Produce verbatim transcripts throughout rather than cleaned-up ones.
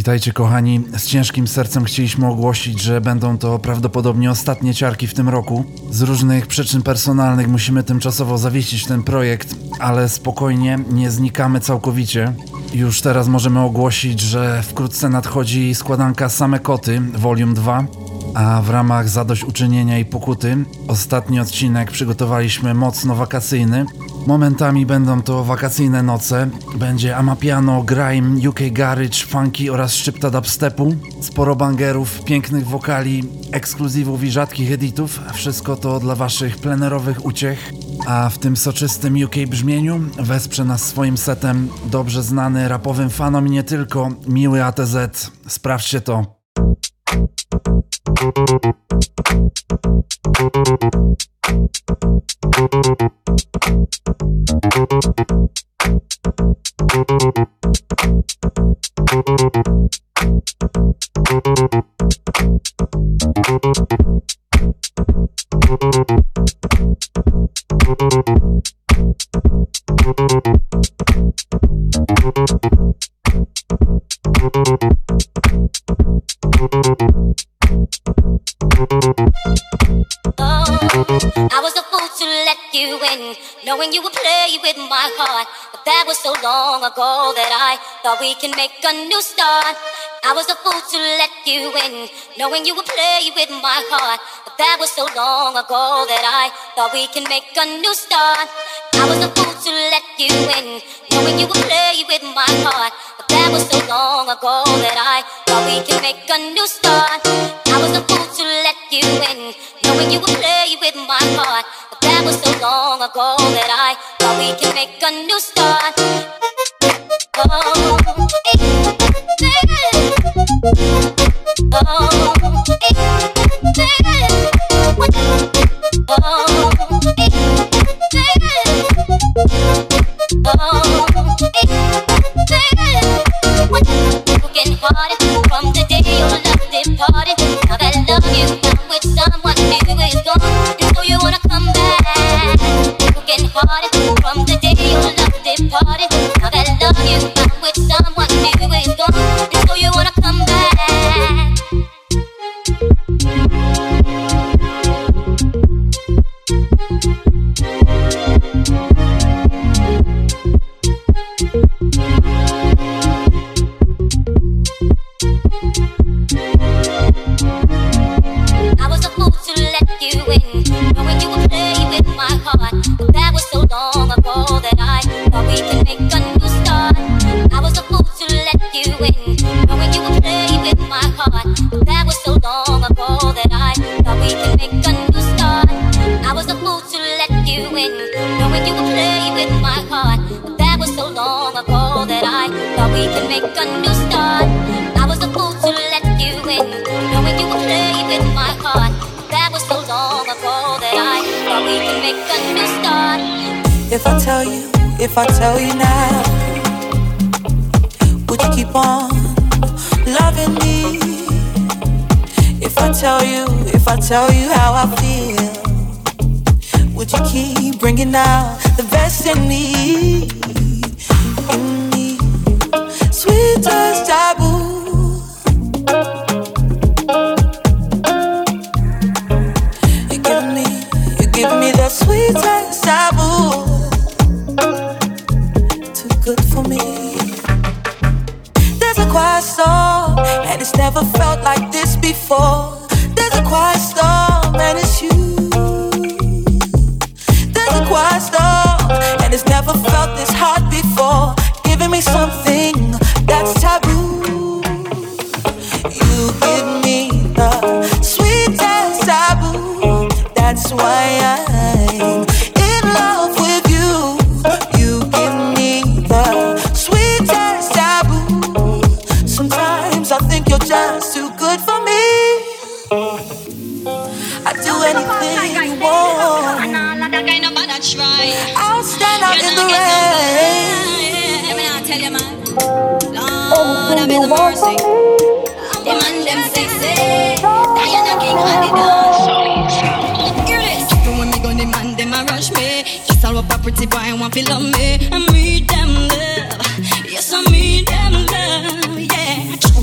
Witajcie kochani, z ciężkim sercem chcieliśmy ogłosić, że będą to prawdopodobnie ostatnie ciarki w tym roku. Z różnych przyczyn personalnych musimy tymczasowo zawiesić ten projekt, ale spokojnie, nie znikamy całkowicie. Już teraz możemy ogłosić, że wkrótce nadchodzi składanka Same Koty, Volume dwa, a w ramach zadośćuczynienia i pokuty ostatni odcinek przygotowaliśmy mocno wakacyjny. Momentami będą to wakacyjne noce, będzie amapiano, grime, U K garage, funky oraz szczypta dubstepu, sporo bangerów, pięknych wokali, ekskluzywów i rzadkich editów, wszystko to dla waszych plenerowych uciech, a w tym soczystym U K brzmieniu wesprze nas swoim setem dobrze znany rapowym fanom i nie tylko, miły A T Z, sprawdźcie to. I was a fool to let you in, knowing you would play with my heart. But that was so long ago that I thought we can make a new start. I was a fool to let you in, knowing you would play with my heart. But that was so long ago that I thought we can make a new start. I was a fool to let you in, knowing you would play with my heart. But that was so long ago that I thought we can make a new start. I was a fool to let you in, knowing you would play with my heart. But that was so long ago that I thought we can make a new start. Oh, baby. Oh, baby. Oh, baby. Oh, getting harder from the day your love departed. Now that love you found with someone new is gone, and so you wanna come back. Getting harder from the day your love departed. Now that love you found with someone new is gone, and so you wanna come back. If I tell you, if I tell you now, would you keep on loving me? If I tell you, if I tell you how I feel, would you keep bringing out the best in me? In me, sweet as taboo. You give me, you give me that sweet as taboo. Good for me. There's a quiet storm, and it's never felt like this before. There's a quiet storm, and it's you. There's a quiet storm, and it's never felt this hot before. Giving me something that's taboo. You give me the sweetest taboo. That's why I'm in love with you. You give me the sweetest taboo. Sometimes I think you're just too good for me. I'd do anything you want. I'll stand out in the rain. Let me not tell you, man. Lord, have mercy. The man them sexy. Diana King on the dance. Hear this. Even when me gun the man them a rush me. Just all a property boy want to love me. I need them love. Yes, I need them love. Yeah. True them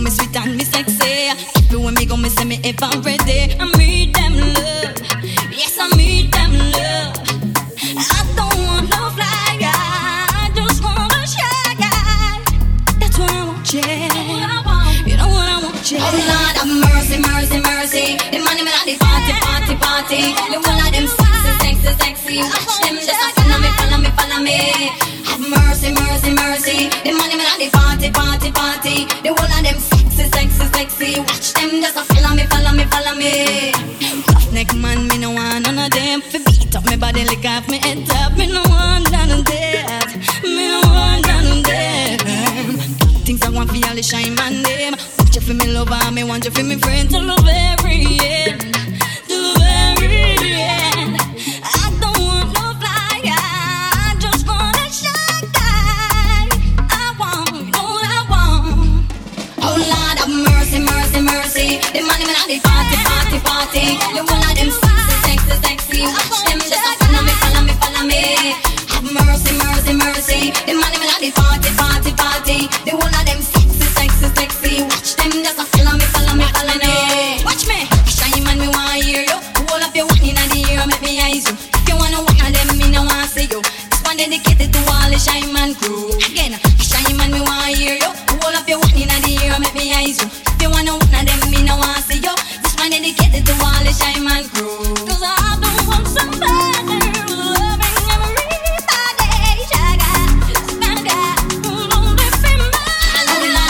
me sweet and me sexy. Everywhere me go, me say me ever ready. I need them love, yes I need them love. I don't want no fly guy, I just want a shy guy. That's what I want, yeah. You know what I want, yeah. Oh Lord have mercy, mercy, mercy. The money me like the party, party, party. The whole of them sexy, sexy, sexy. Watch them just like follow me, follow me, follow me. Have mercy, mercy, mercy. The money me like the party, party, party. The whole of them sexy, sexy, sexy. Watch them just like follow me, follow me, follow me. Roughneck man, me no want none of them. Fi beat up me body, lick off me head top. Me no want none of that. Me no want none of them. Things I want for all the shine man them. Want you for me lover, me want you for me friend till the very end, till the very end. I don't want no fly guy, I just want a shy guy. I want, you know what I want. Oh Lord have mercy, mercy, mercy. The money me like the party, party, party. The one of them sexy, sexy, sexy. Watch them just like follow me, follow me, follow me. Have mercy, mercy, mercy. The money me like the party, party, party. The one of them sexy, sexy, sexy. Watch them just like follow me, follow me, follow me. Watch me, shine man, me want hear you. Hold up your one in the ear, make me eyes you. If you wanna one of them, me no want see you. This one dedicated to all the shine man crew. Again, shine man, me want hear you. Hold up your one in the ear, make me eyes you. If you wanna one of them, me no want see you. This one dedicated to all the shine man crew. Cause I don't want somebody loving everybody. Shaga, shaga, who don't live in my life.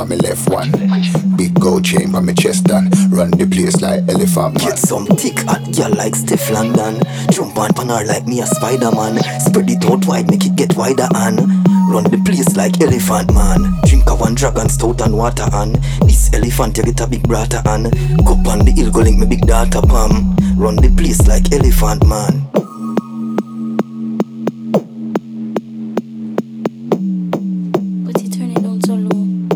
on my left one. Big gold chain on my chest and run the place like elephant man. Get some thick hot girl like Steph London. Jump on pan her like me a Spider-Man. Spread it out wide, make it get wider and run the place like elephant man. Drink a one dragon stout and water and this elephant you get a big brata and cup on the hill go link me big daughter Pam. Run the place like elephant man. But you turn it down so low.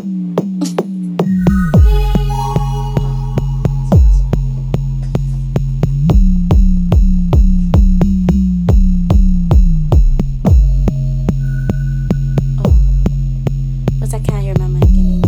But I can't hear my mic anymore.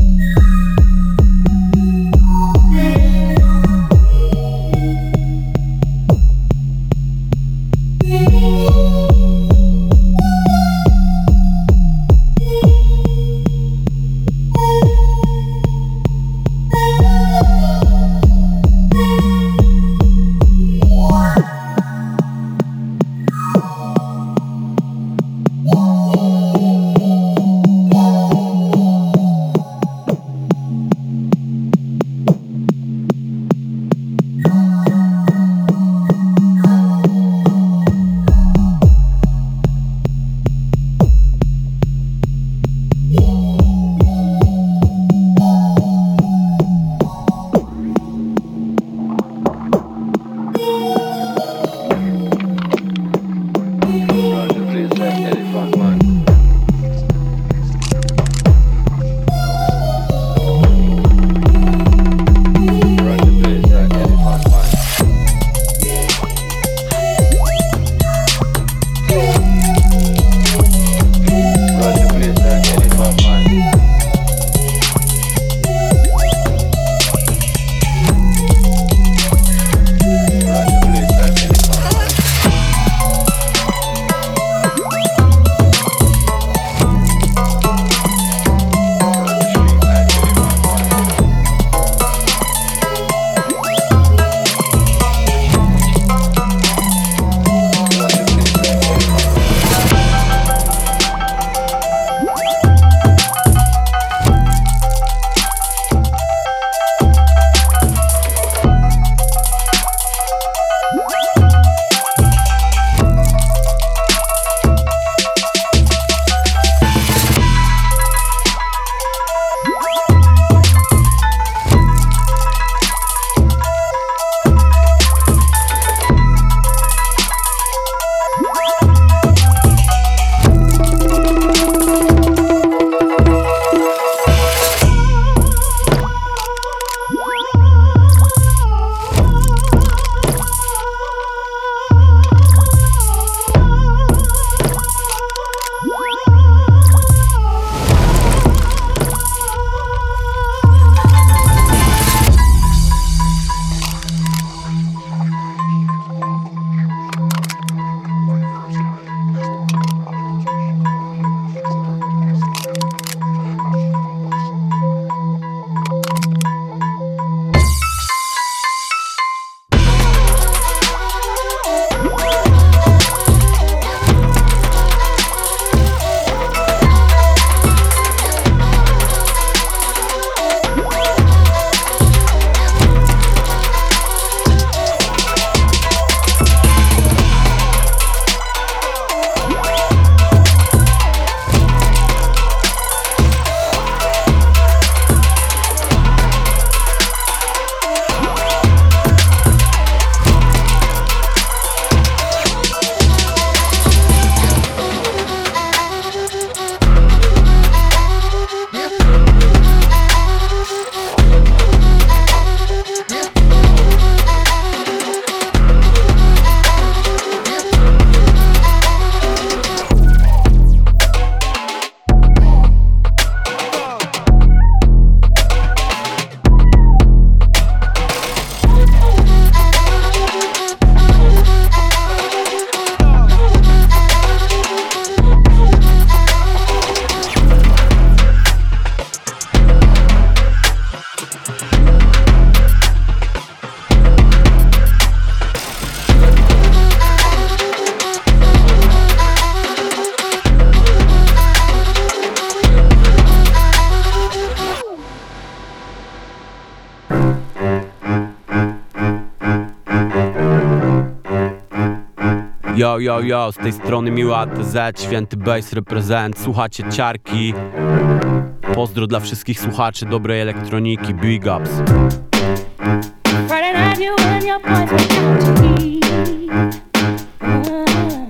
Yo, yo, yo, z tej strony Miła A T Z, Święty Bass reprezent. Słuchacie Ciarki. Pozdro dla wszystkich słuchaczy dobrej elektroniki. Big ups. Friday night you and your boys went out to eat. Uh,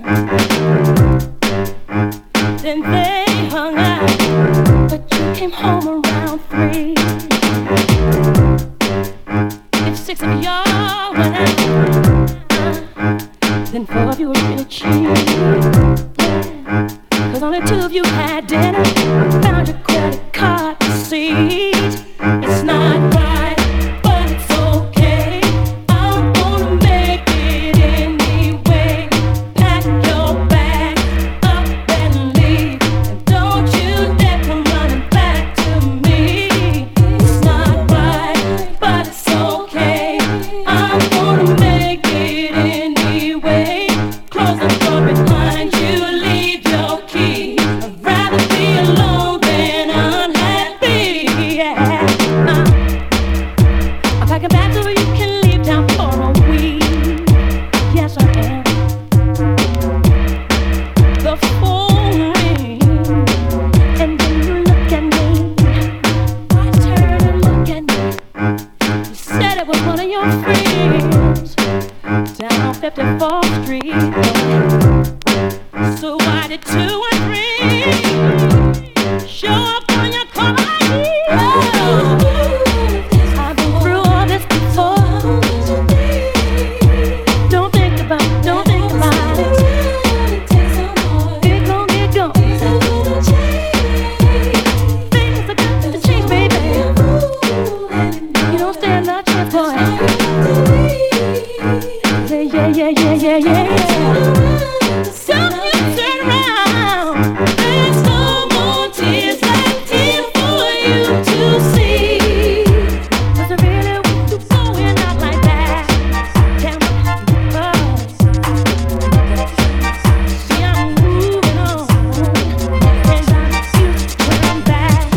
then they hung out, but you came home around three. If six of y'all went out, uh, then four of you were really cheap. Yeah, cause only two of you had dinner. Found your credit card receipt. It's not right, but it's okay. I'm gonna make it anyway. Pack your bag up and leave, and don't you dare come running back to me. It's not right, but it's okay. I'm gonna make it anyway. Close the door behind you, leave your key. I'd rather be alone than unhappy. Yeah. Uh, I'm packing back so you can leave town for a week. Yes, I am. The phone rings, and then you look at me. I turn and look at me. You said it was one of your friends down fifty-fourth Street. So why did two and three show up on your car I D? I've been through all this before. Don't think about it, don't think about it. Get gone, get gone. Things are got to change, baby. You don't stand a chance, boy. Yeah, yeah, yeah, yeah, yeah, yeah. So you turn around. There's no more tears like tears for you to see. Does it really want you going out like that? Can't buzz. See, I'm moving on, and I'm turn back.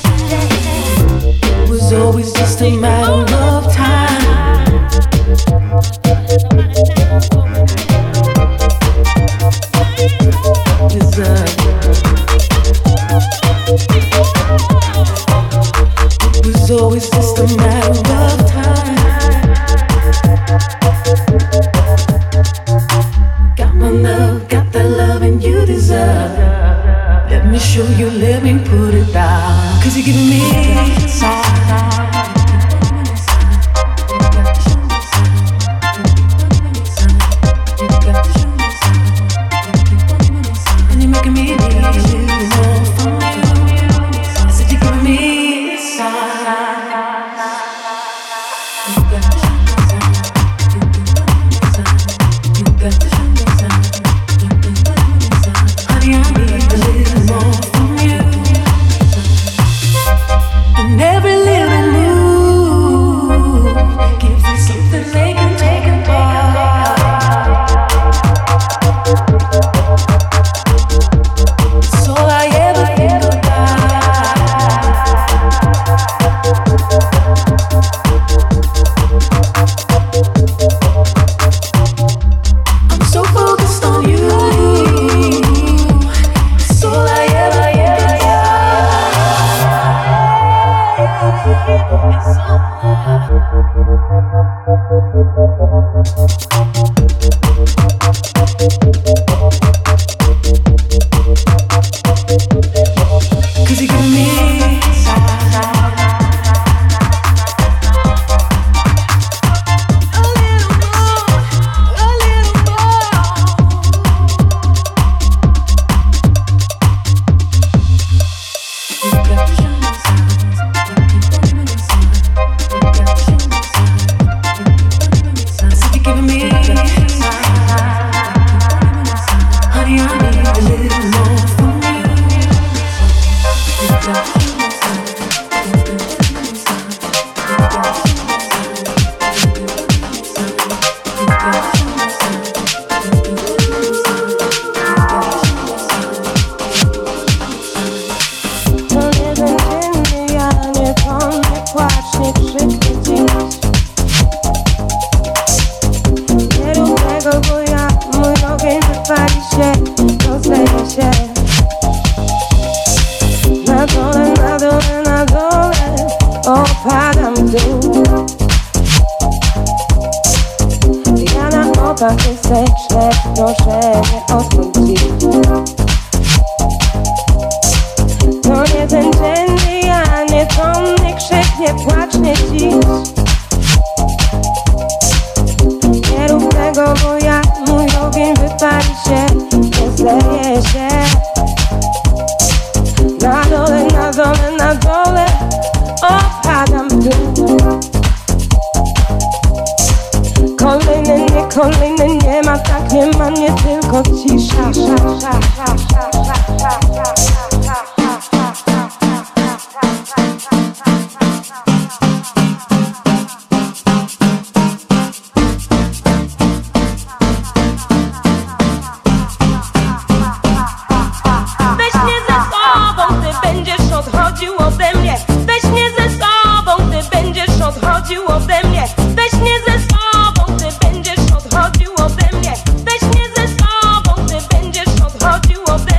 It was always just a matter of time. Deserve. It was always just a matter of time. Got my love, got that love, and you deserve. Let me show you, let me put it down. Cause you're giving me sign. And you're making me need more from you. I said you're giving me a sign. You got to show me sign. You got to show me sign. Honey, I need a little more from you. And every little move gives me something they can take apart. It's all I ever think about. I'm so focused on you. It's all I ever, ever, ever. It's all Cause you're giving me sign. A little more, a little more. You got to show me signs. You got to show me signs. I said you're giving me signs. Honey, I need a little more from you. You got to show me signs. Quiero que voy a muy bien. każdy sekret, proszę nie odmówić. To nie ten dzienny, a nie tomny krzyk, nie płacz, nie dziś. Nie rób tego, bo jak mój ogień wypali się, nie zleje się. Na dole, na dole, na dole opadam w dół. Kolejny, nie kolejny, nie ma, tak nie ma, nie tylko cisza. Weź mnie ze sobą, ty będziesz odchodził ode mnie. Weź mnie ze sobą, ty będziesz odchodził ode mnie. Weź mnie ze sobą, ty będziesz odchodził ode mnie. Weź mnie ze sobą, ty będziesz odchodził ode mnie.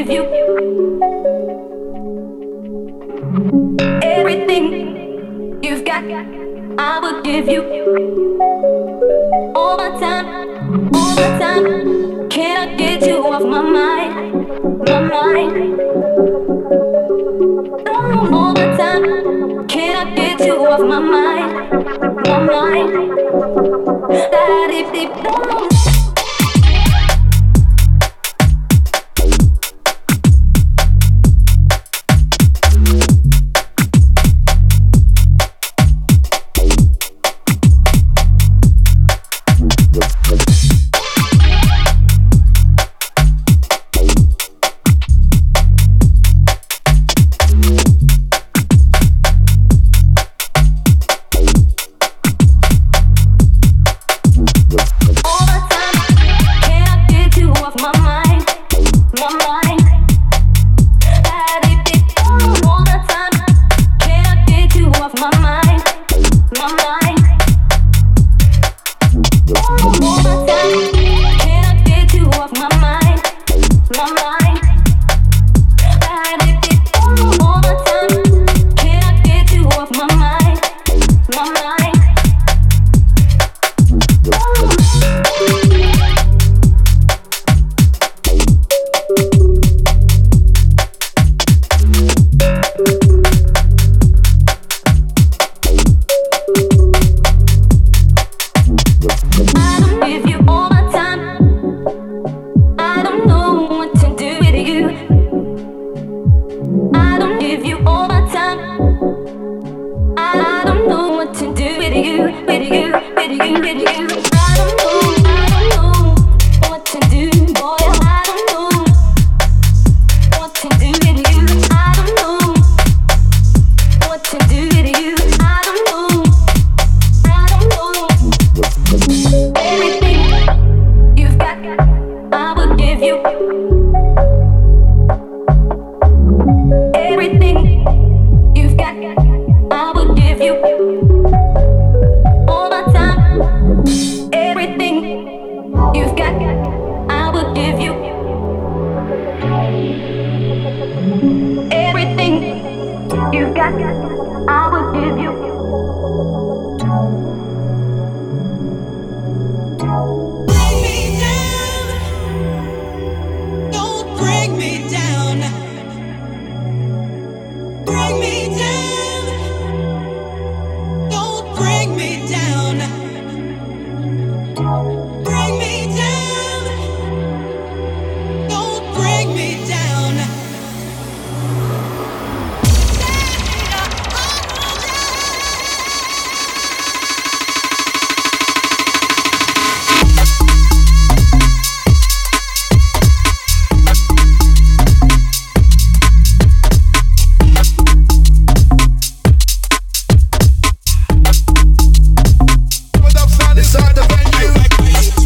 give you everything you've got. I would give you all my time, all my time. Can I get you off my mind, my mind? All the time. Can I get you off my mind, my mind? That if they don't. Inside the venue.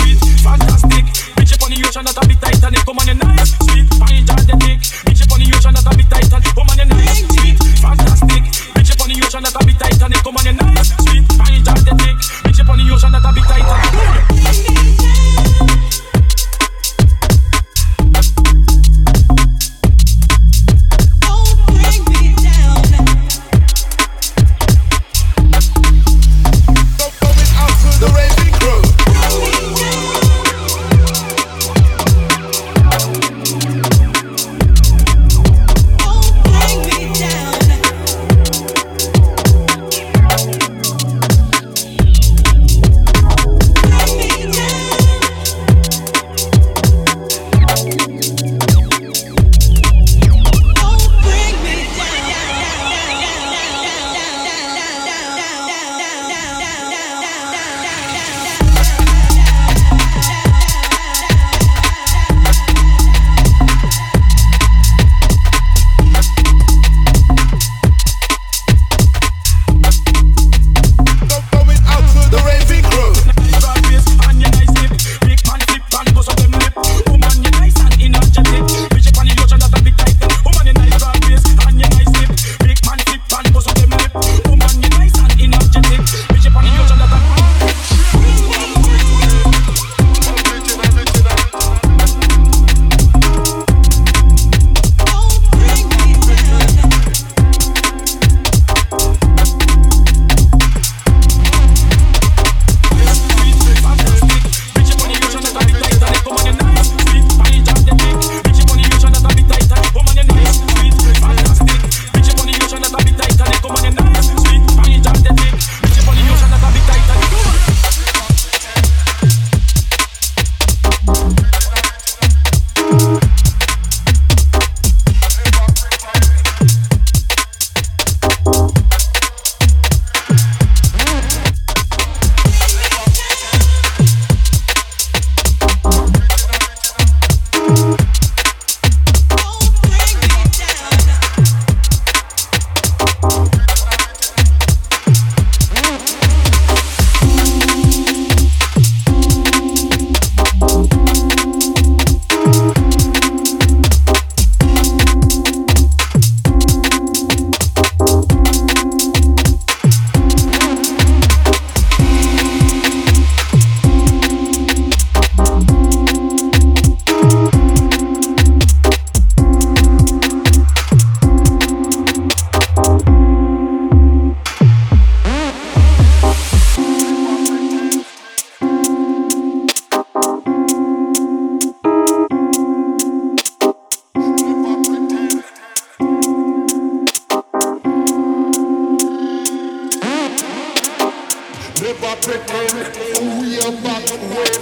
pretend we are back when.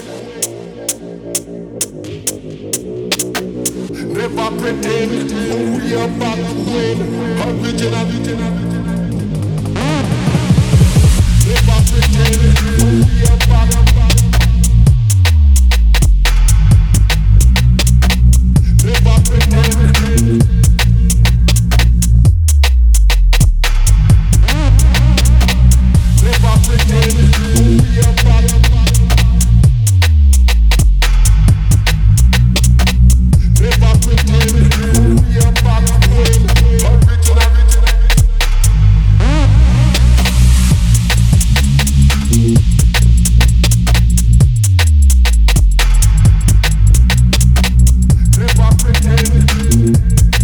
Never pretend we are back when. Original, original. Never pretend we are back. Never pretend. Never pretend we are back. Never pretend we are back when. Original, original. Never pretend.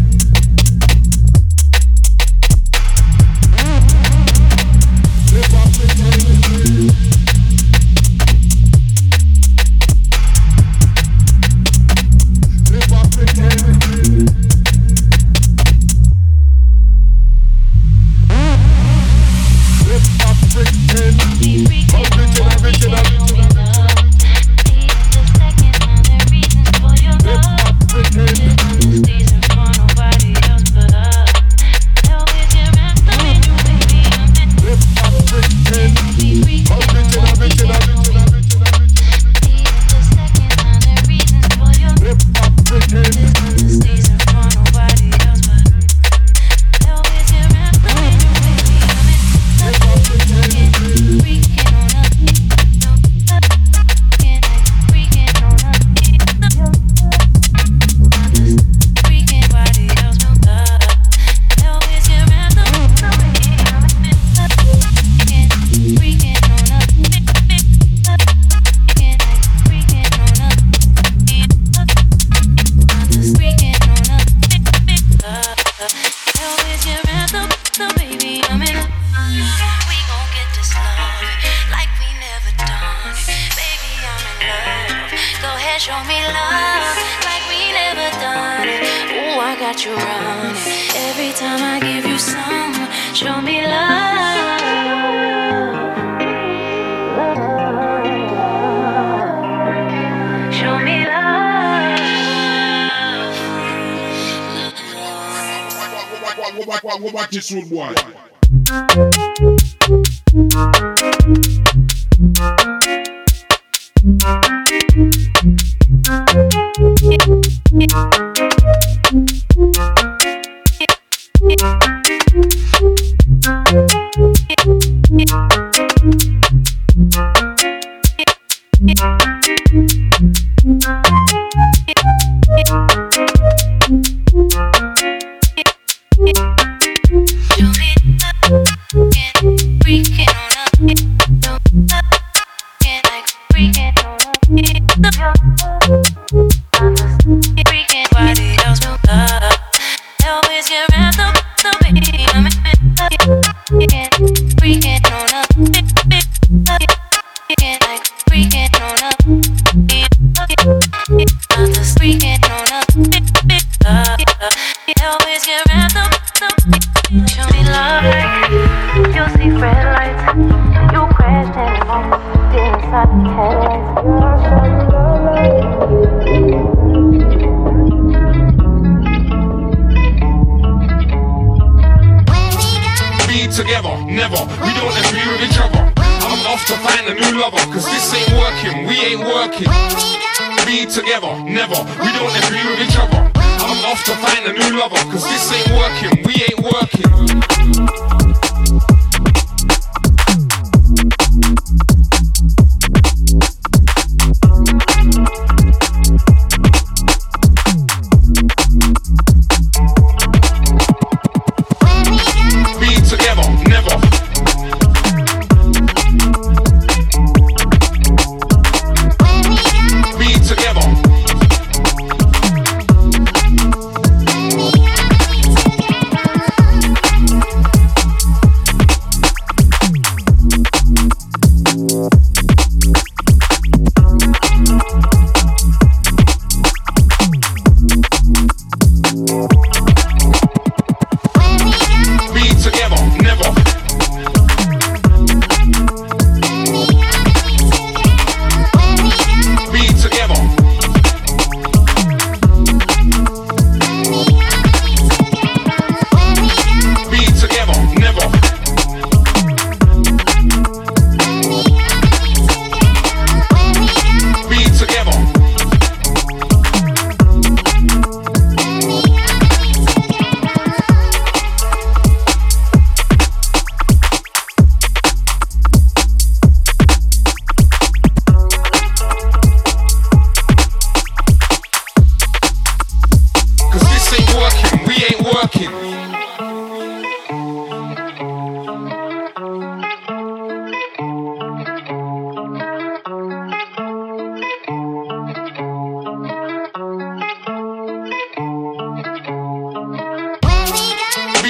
Watch this one, boy.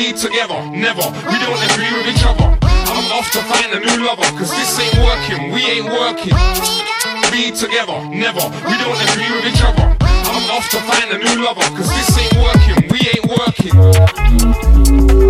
Be together, never. We don't agree with each other. I'm off to find a new lover, cause this ain't working, we ain't working. Be together, never. We don't agree with each other. I'm off to find a new lover, cause this ain't working, we ain't working.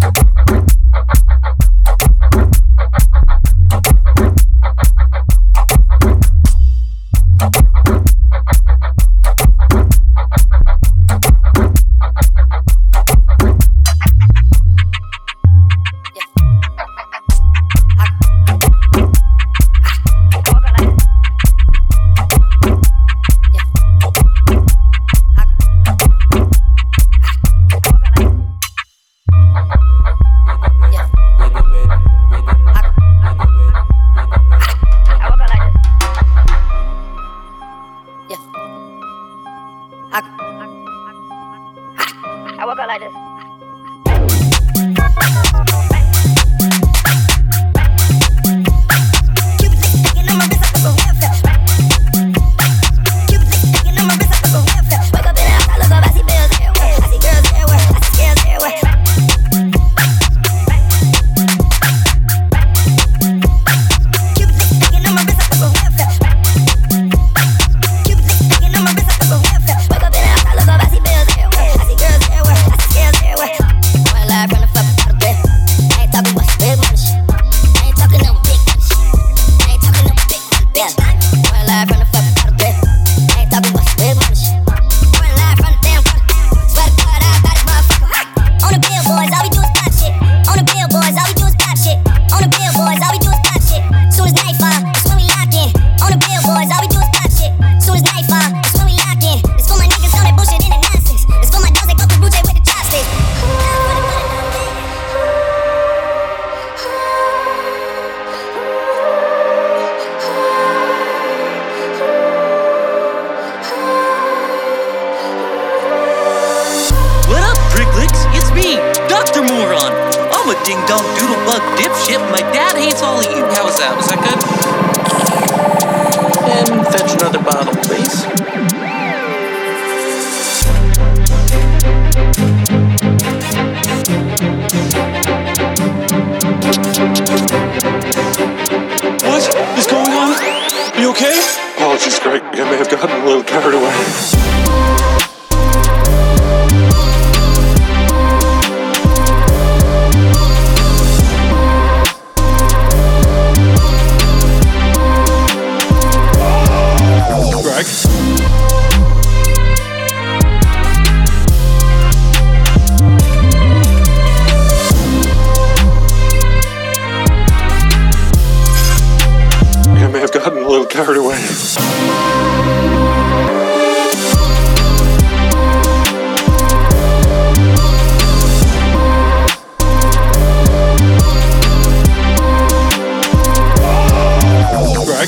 Yeah, going live from the fucking bottom bed. I ain't talking about some big money shit. Going live from the damn bottom. Swear to God, I got this motherfucker. On the billboards, all we do is pop shit. On the billboards, all we do is pop shit. On the billboards, all we do is pop shit. Soon as nightfall, that's when we lock in. On the billboards, all we do is pop shit. Soon as nightfall, that's when we lock in. It's for my niggas on that bullshit and that nonsense. It's for my dogs that go through Blue Jay with the chopsticks. What up, Pricklets? It's me, Doctor Moron. I'm a ding-dong doodle-bug dipshit. My dad hates all of you. How was that? Was that good? And fetch another bottle, please. What is going on? Are you okay? Apologies, Greg. I may have gotten a little carried away. Greg? I may have gotten a little carried away. Greg?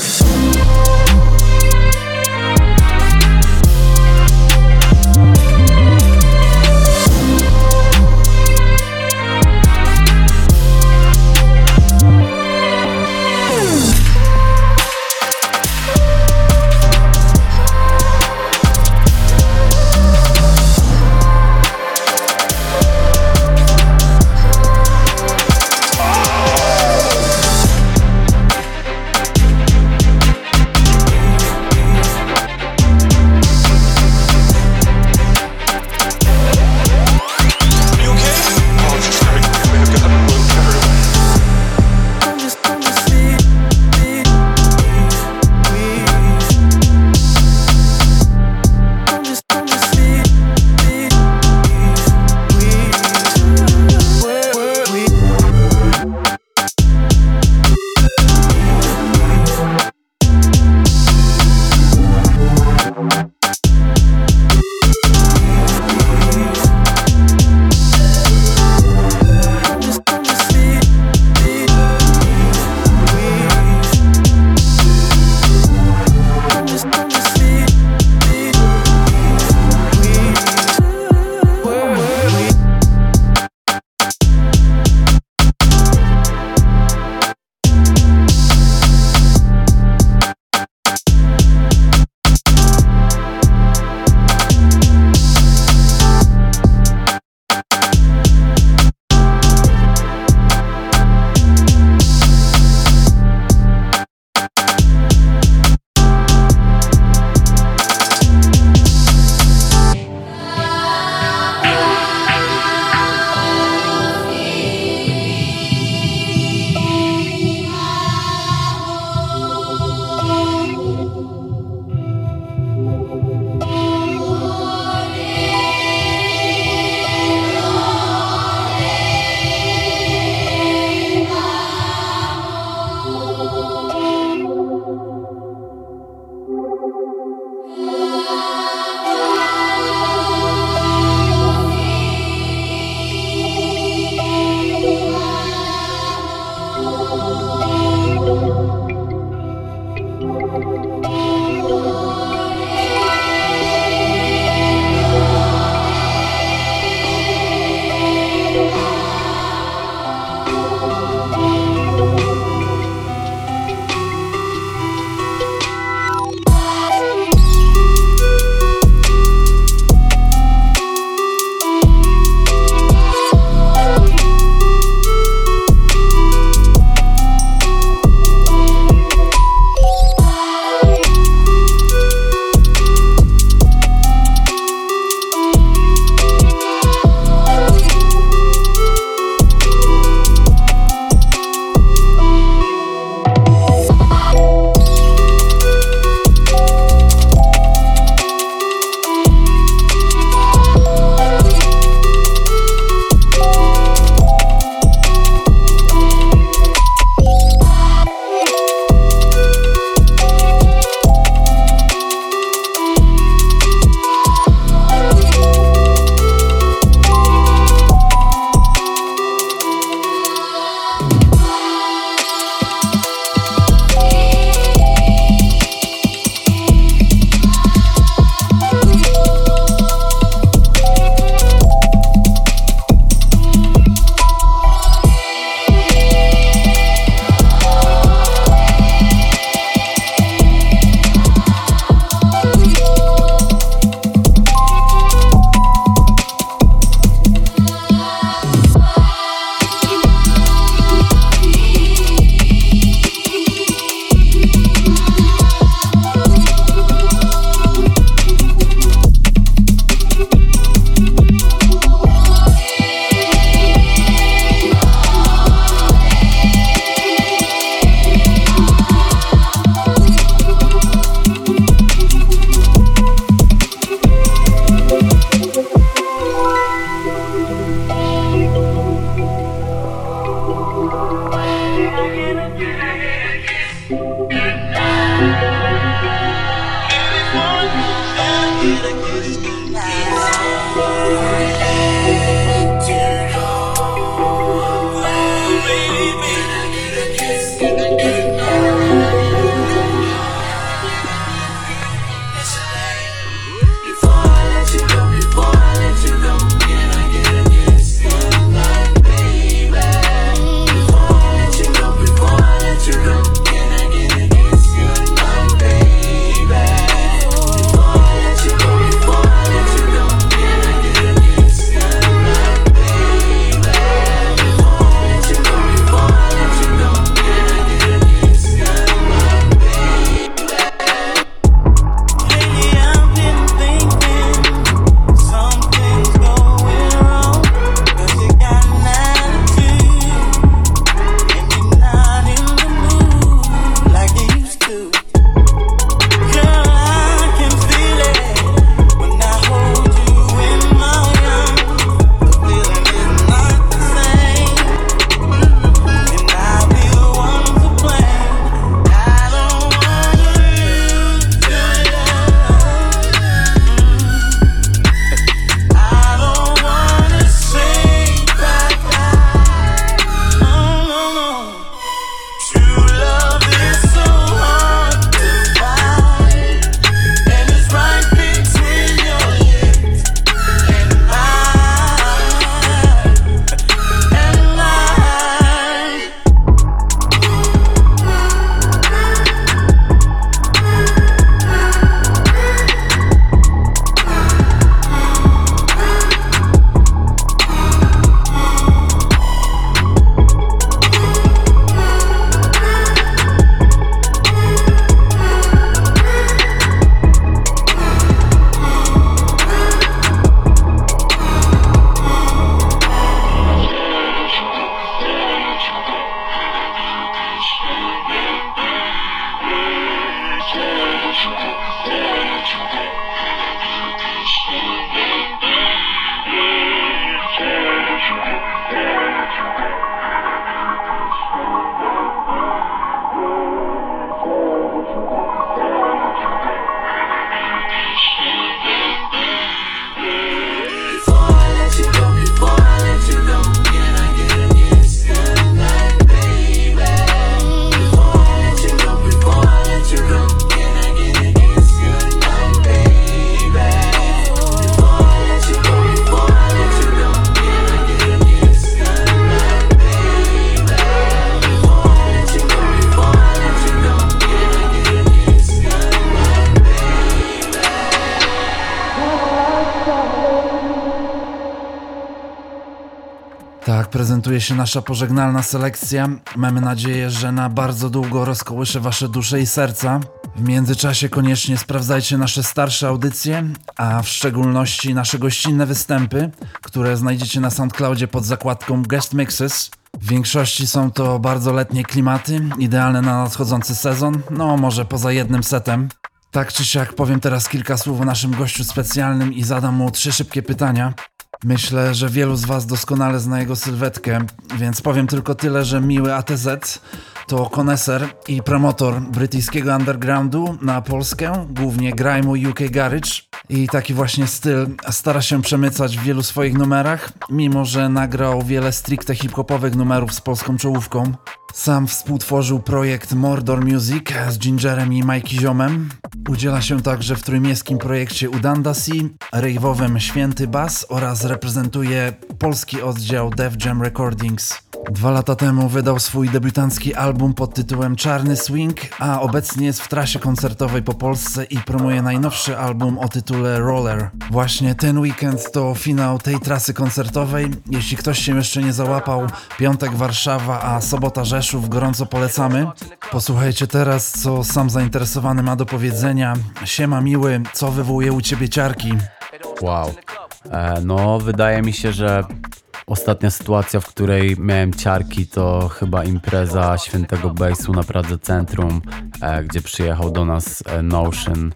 prezentuje się nasza pożegnalna selekcja. Mamy nadzieję, że na bardzo długo rozkołysze wasze dusze i serca. W międzyczasie koniecznie sprawdzajcie nasze starsze audycje, a w szczególności nasze gościnne występy, które znajdziecie na SoundCloudzie pod zakładką Guest Mixes. W większości są to bardzo letnie klimaty, idealne na nadchodzący sezon, no może poza jednym setem. Tak czy siak powiem teraz kilka słów o naszym gościu specjalnym i zadam mu trzy szybkie pytania. Myślę, że wielu z was doskonale zna jego sylwetkę, więc powiem tylko tyle, że miły A T Z to koneser i promotor brytyjskiego undergroundu na Polskę, głównie grime'u U K Garage, i taki właśnie styl stara się przemycać w wielu swoich numerach, mimo że nagrał wiele stricte hip-hopowych numerów z polską czołówką. Sam współtworzył projekt Mordor Music z Gingerem i Mikey Ziomem. Udziela się także w trójmiejskim projekcie Udandasi, rejwowym Święty Bass oraz reprezentuje polski oddział Def Jam Recordings. Dwa lata temu wydał swój debiutancki album pod tytułem Czarny Swing, a obecnie jest w trasie koncertowej po Polsce i promuje najnowszy album o tytule Roller. Właśnie ten weekend to finał tej trasy koncertowej. Jeśli ktoś się jeszcze nie załapał, piątek Warszawa, a sobota Rzeszów, gorąco polecamy. Posłuchajcie teraz, co sam zainteresowany ma do powiedzenia. Siema miły, co wywołuje u ciebie ciarki? Wow. E, no, wydaje mi się, że ostatnia sytuacja, w której miałem ciarki, to chyba impreza Świętego Bassu na Pradze Centrum, e, gdzie przyjechał do nas e, Notion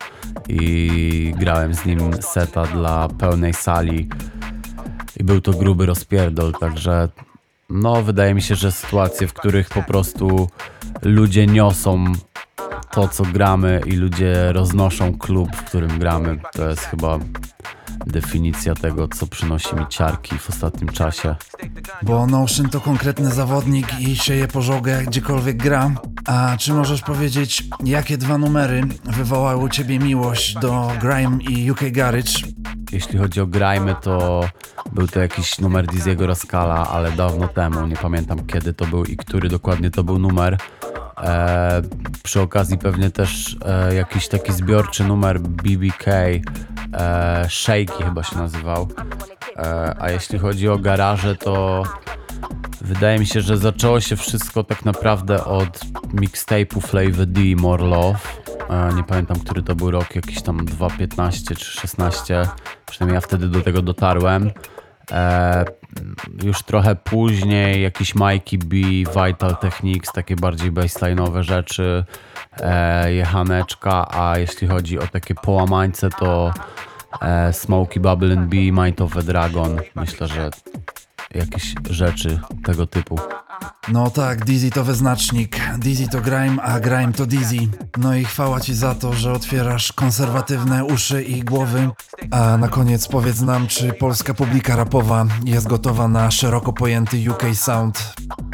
i grałem z nim seta dla pełnej sali i był to gruby rozpierdol, także no wydaje mi się, że sytuacje, w których po prostu ludzie niosą to, co gramy i ludzie roznoszą klub, w którym gramy, to jest chyba definicja tego, co przynosi mi ciarki w ostatnim czasie. Bo Notion to konkretny zawodnik i sieje pożogę gdziekolwiek gra. A czy możesz powiedzieć, jakie dwa numery wywołały u ciebie miłość do grime i U K Garage? Jeśli chodzi o grime, to był to jakiś numer Dizzy'ego Rascala, ale dawno temu, nie pamiętam kiedy to był i który dokładnie to był numer. E, przy okazji pewnie też e, jakiś taki zbiorczy numer B B K, e, Shaky chyba się nazywał. E, a jeśli chodzi o garaże, to wydaje mi się, że zaczęło się wszystko tak naprawdę od mixtape'u Flavor D, More Love. E, nie pamiętam, który to był rok, jakiś tam dwa tysiące piętnasty czy szesnasty, przynajmniej ja wtedy do tego dotarłem. E, już trochę później jakiś Mikey B, Vital Techniques, takie bardziej bassline'owe rzeczy, e, Jechaneczka, a jeśli chodzi o takie połamańce, to e, Smokey Bubble and B, Mind of a Dragon. Myślę, że jakieś rzeczy tego typu. No tak, Dizzy to wyznacznik, Dizzy to grime, a grime to Dizzy. No i chwała ci za to, że otwierasz konserwatywne uszy i głowy. A na koniec powiedz nam, czy polska publika rapowa jest gotowa na szeroko pojęty U K sound?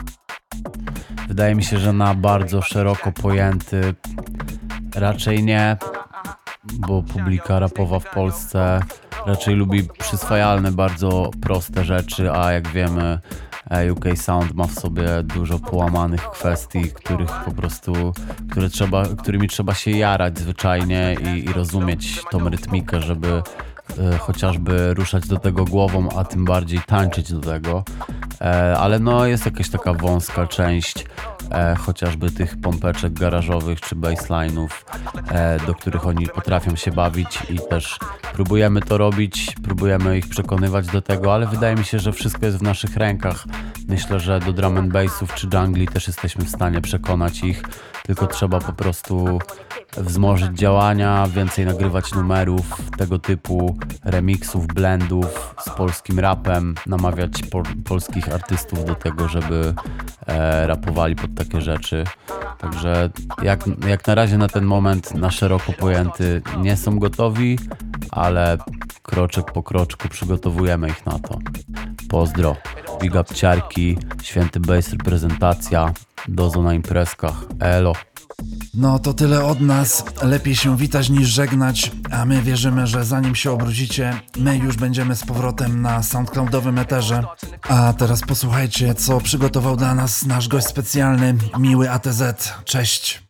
Wydaje mi się, że na bardzo szeroko pojęty raczej nie, bo publika rapowa w Polsce raczej lubi przyswajalne, bardzo proste rzeczy, a jak wiemy, U K Sound ma w sobie dużo połamanych kwestii, których po prostu, które trzeba, którymi trzeba się jarać zwyczajnie i, i rozumieć tą rytmikę, żeby e, chociażby ruszać do tego głową, a tym bardziej tańczyć do tego. E, ale no jest jakaś taka wąska część e, chociażby tych pompeczek garażowych czy bassline'ów, e, do których oni potrafią się bawić i też próbujemy to robić, próbujemy ich przekonywać do tego, ale wydaje mi się, że wszystko jest w naszych rękach. Myślę, że do drum and bassów czy jungli też jesteśmy w stanie przekonać ich, tylko trzeba po prostu wzmożyć działania, więcej nagrywać numerów tego typu, remixów, blendów z polskim rapem, namawiać po, polskich artystów do tego, żeby e, rapowali pod takie rzeczy. Także jak, jak na razie na ten moment na szeroko pojęty nie są gotowi, ale kroczek po kroczku przygotowujemy ich na to. Pozdro, big up ciarki, Święty Bass reprezentacja, dozo na imprezkach, elo. No to tyle od nas, lepiej się witać niż żegnać, a my wierzymy, że zanim się obrócicie, my już będziemy z powrotem na SoundCloudowym eterze. A teraz posłuchajcie, co przygotował dla nas nasz gość specjalny, miły A T Z. Cześć!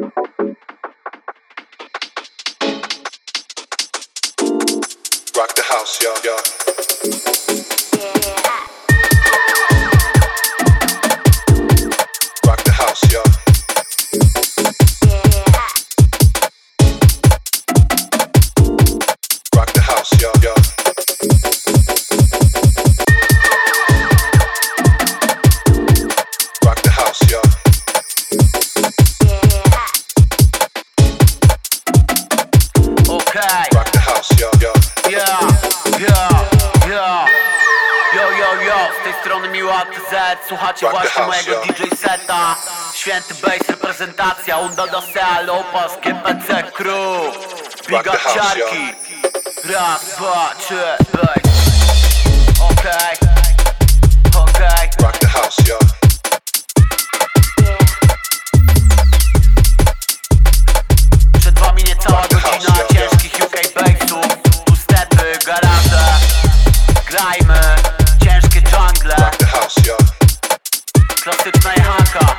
Rock the house, yeah, yeah. Rock the house, yeah. Rock the house, yeah, yeah. Rock the house, yeah. Okay. Rock the house, yeah, yeah. Yeah, yeah, yeah. Yo, yo, yo, z tej strony Miła Z. Słuchacie Rock the właśnie house, mojego yeah. D J seta. Święty bass, reprezentacja Unda do Sea, Lopas, G P C Crew. Big Rock the up house, ciarki. Raz, dwa, trzy, bass. Okej, okej. Rock the house, yeah. Przed wami niecała godzina ciężkich U K bassów. Tu stepy, garaże. Grajmy, ciężkie jungle. Rock the house, yeah. Klasyczna jechanka.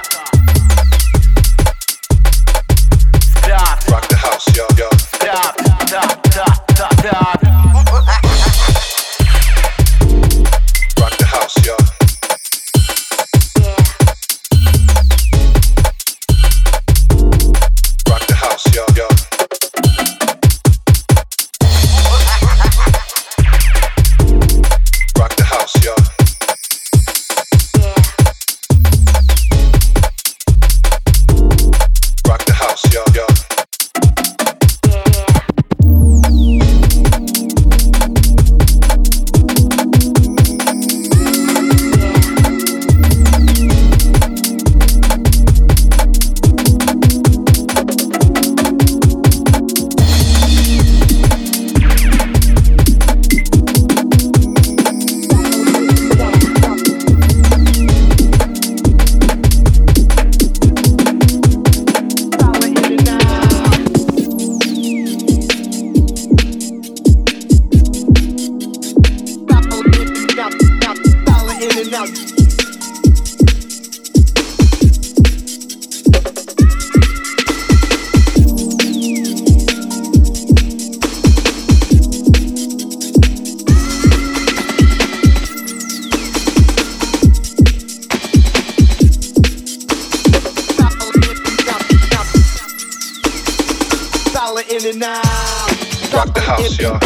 Sprawdź, Rock the house, yeah, yeah. sprawdź, ta, ta, ta, ta. Rock the house, yeah. Rock the house, yeah, yeah. Rock the house, yeah. Rock the house, yeah, yeah. Rock the house, yeah.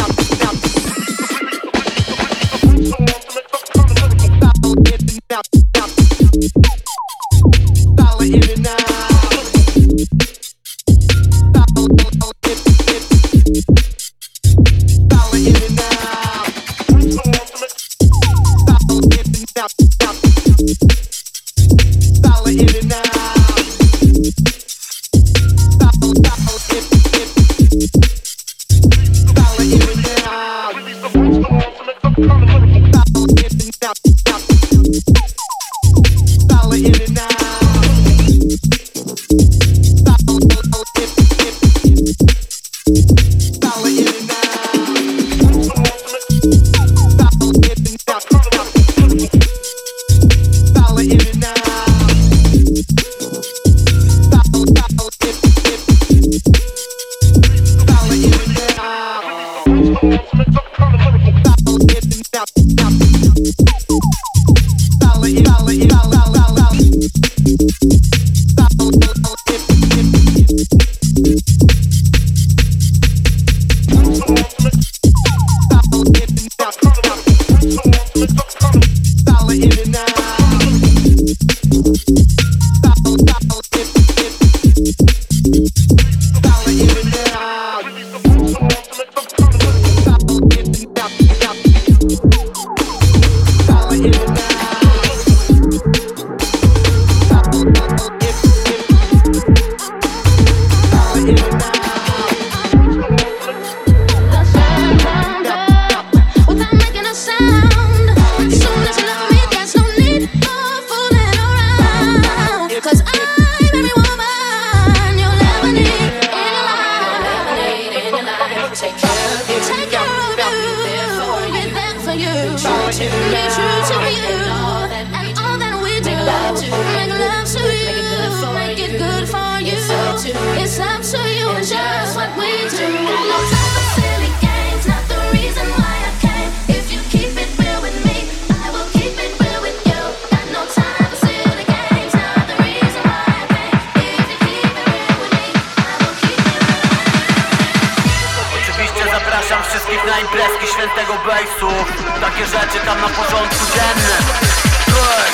imprezki świętego bejsu. Takie rzeczy tam na porządku dziennym. Hej!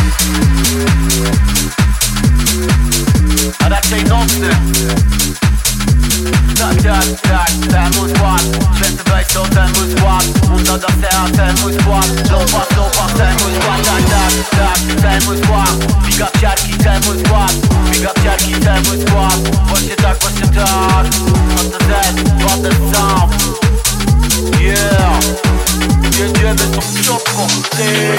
A raczej nocny. Tak, tak, tak, ten mój skład. Święty bejs to ten mój skład. Munda da sea, ten mój skład. Lopa, lopa, ten mój skład. Tak, tak, tak, ten mój skład. Big up ciarki, ten mój skład. Big up ciarki, ten mój skład. Właśnie tak, właśnie tak. A to Z, Water Sound. Yeah. Jedziemy tą szczotką, ty.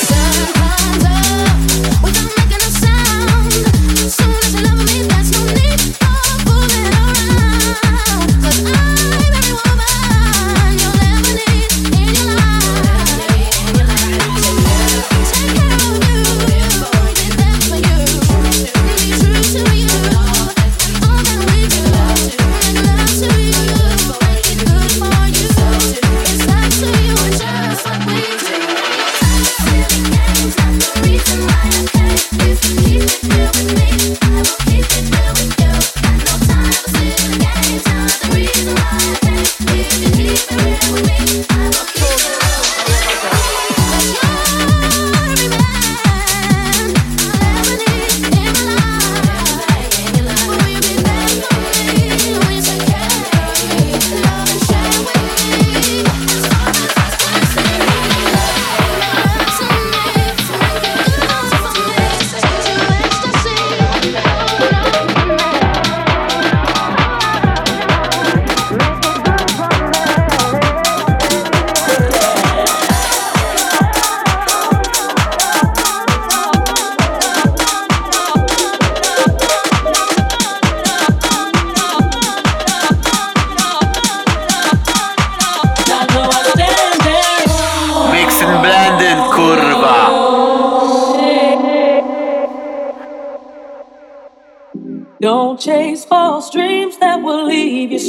Don't chase false dreams that will leave you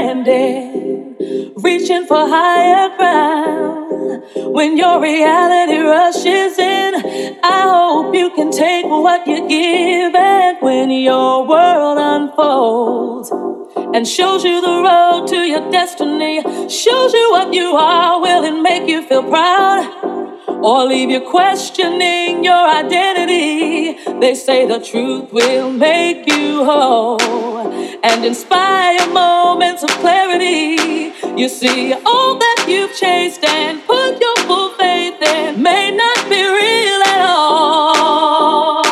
stranded, reaching for higher ground. When your reality rushes in, I hope you can take what you give. And when your world unfolds and shows you the road to your destiny, shows you what you are, will it make you feel proud? Or leave you questioning your identity? They say the truth will make you whole and inspire moments of clarity. You see, all that you've chased and put your full faith in may not be real at all.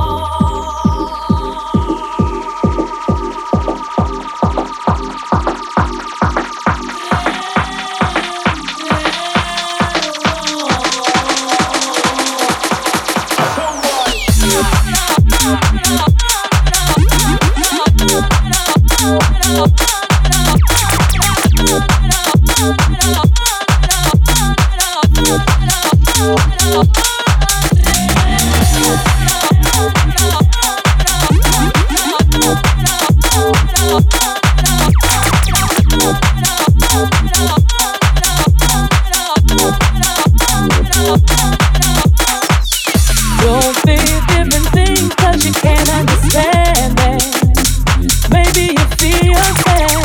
Don't feel different things 'cause you can't understand it. Maybe you feel sad.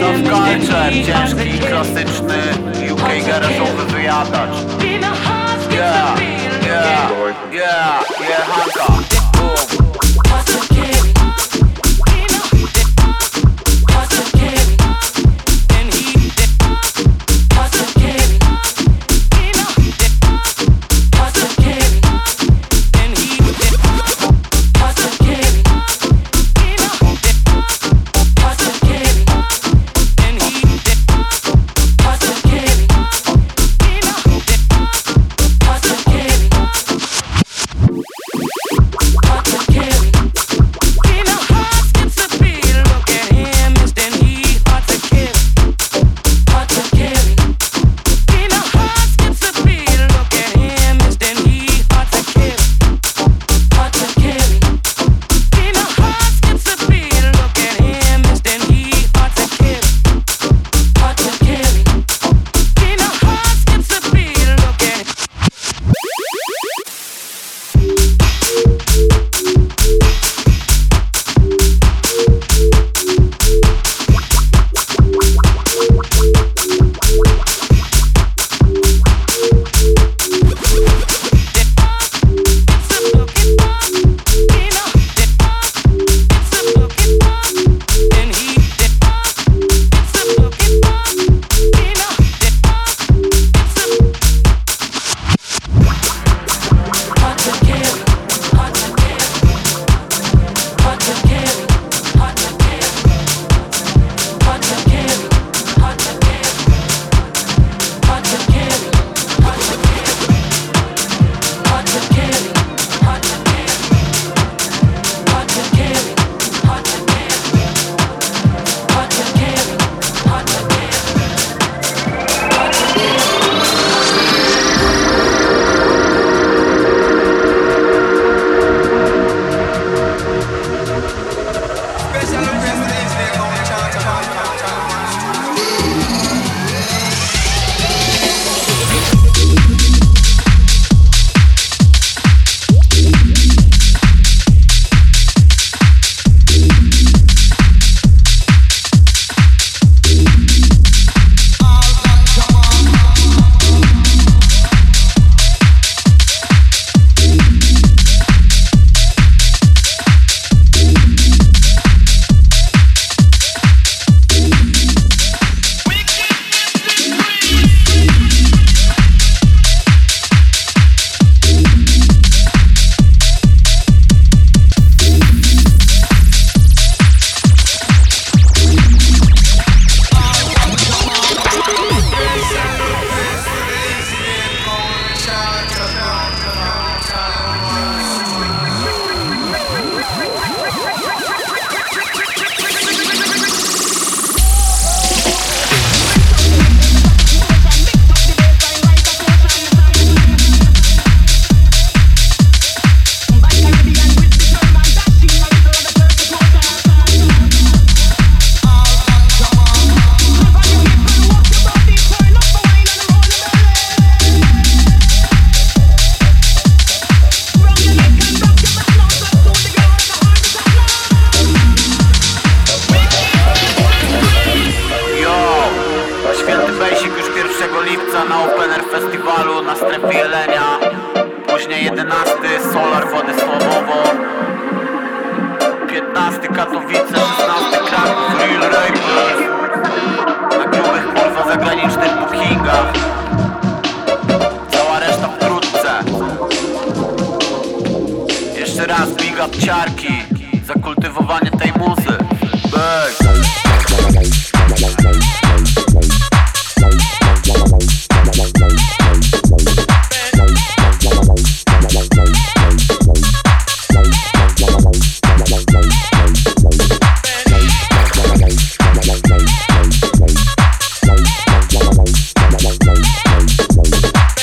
Love Culture, ciężki, klasyczny U K garażowy wyjadacz. Yeah, yeah, yeah, yeah, Hanka.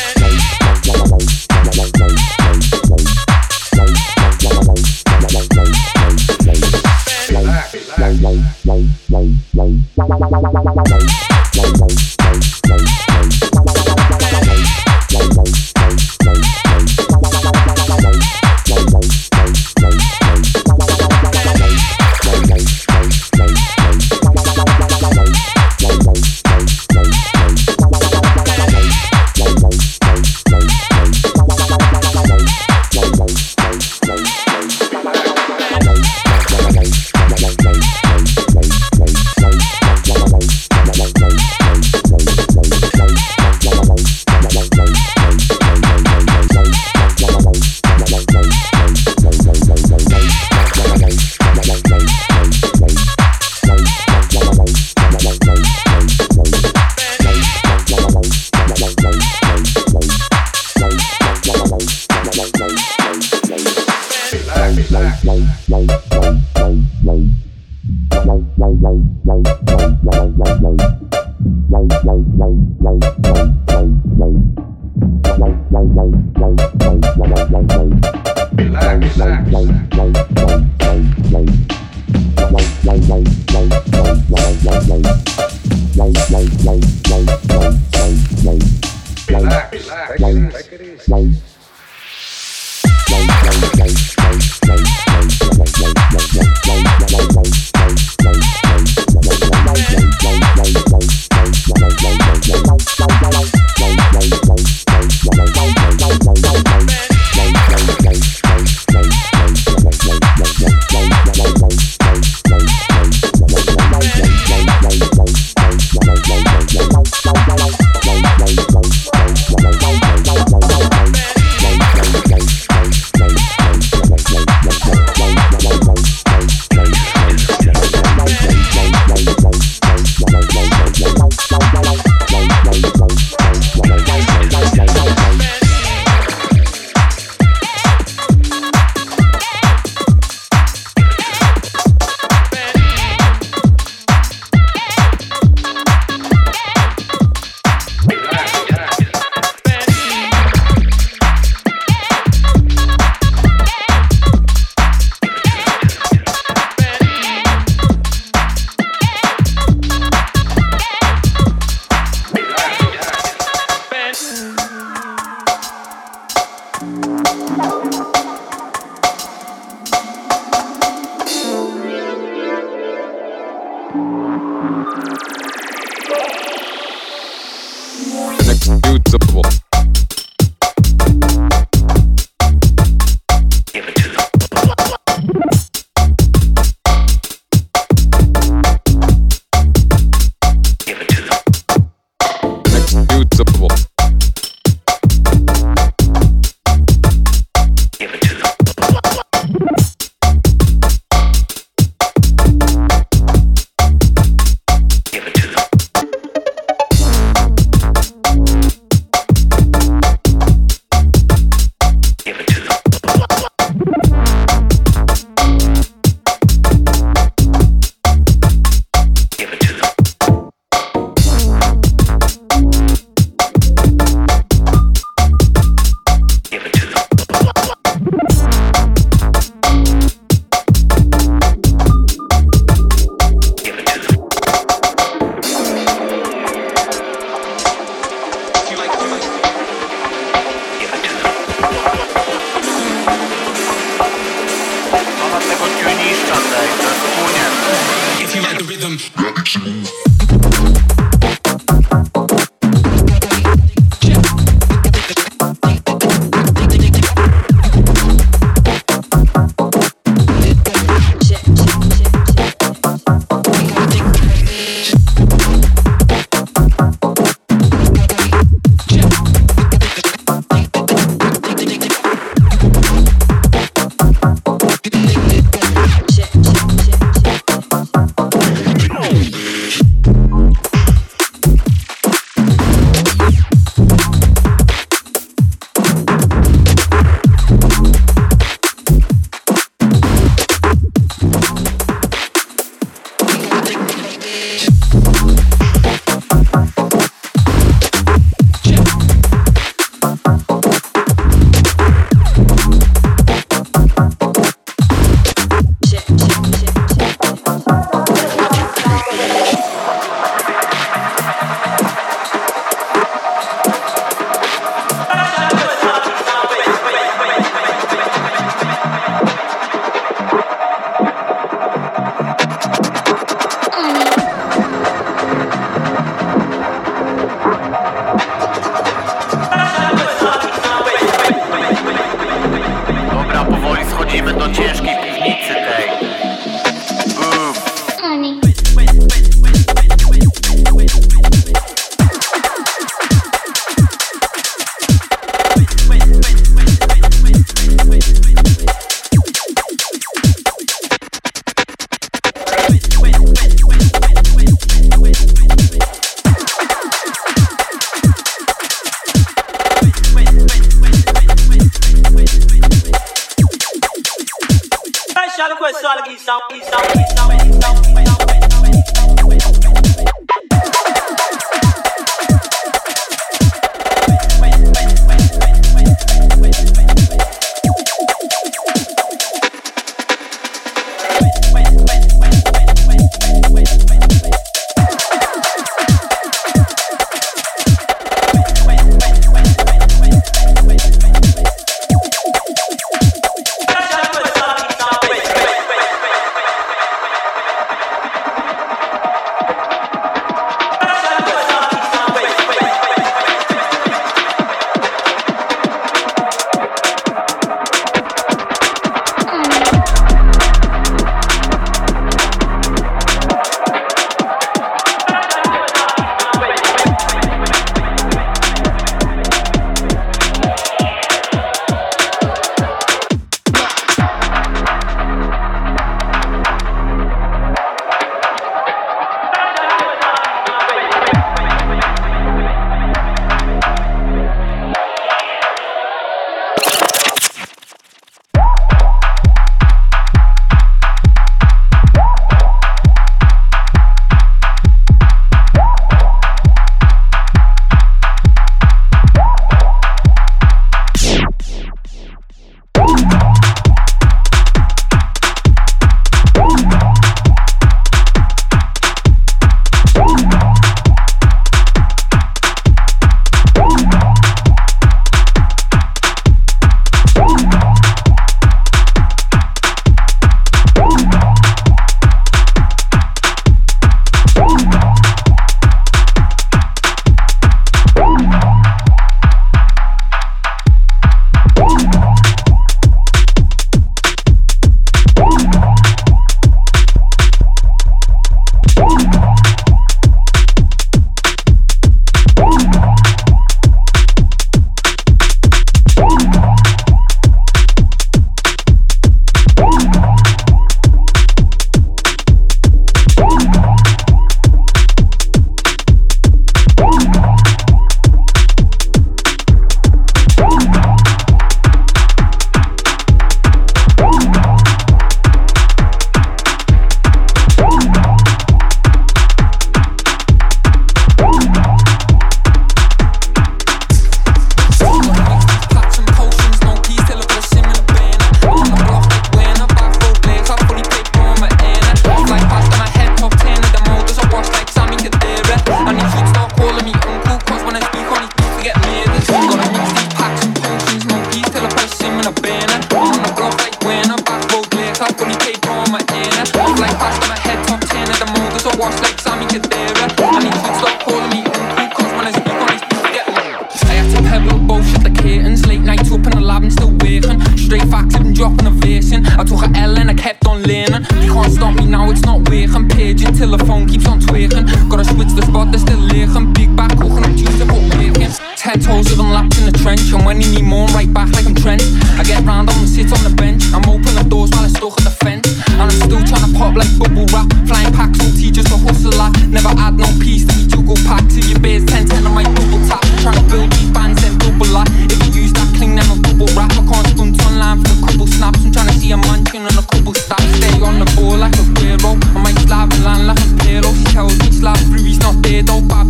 Bye.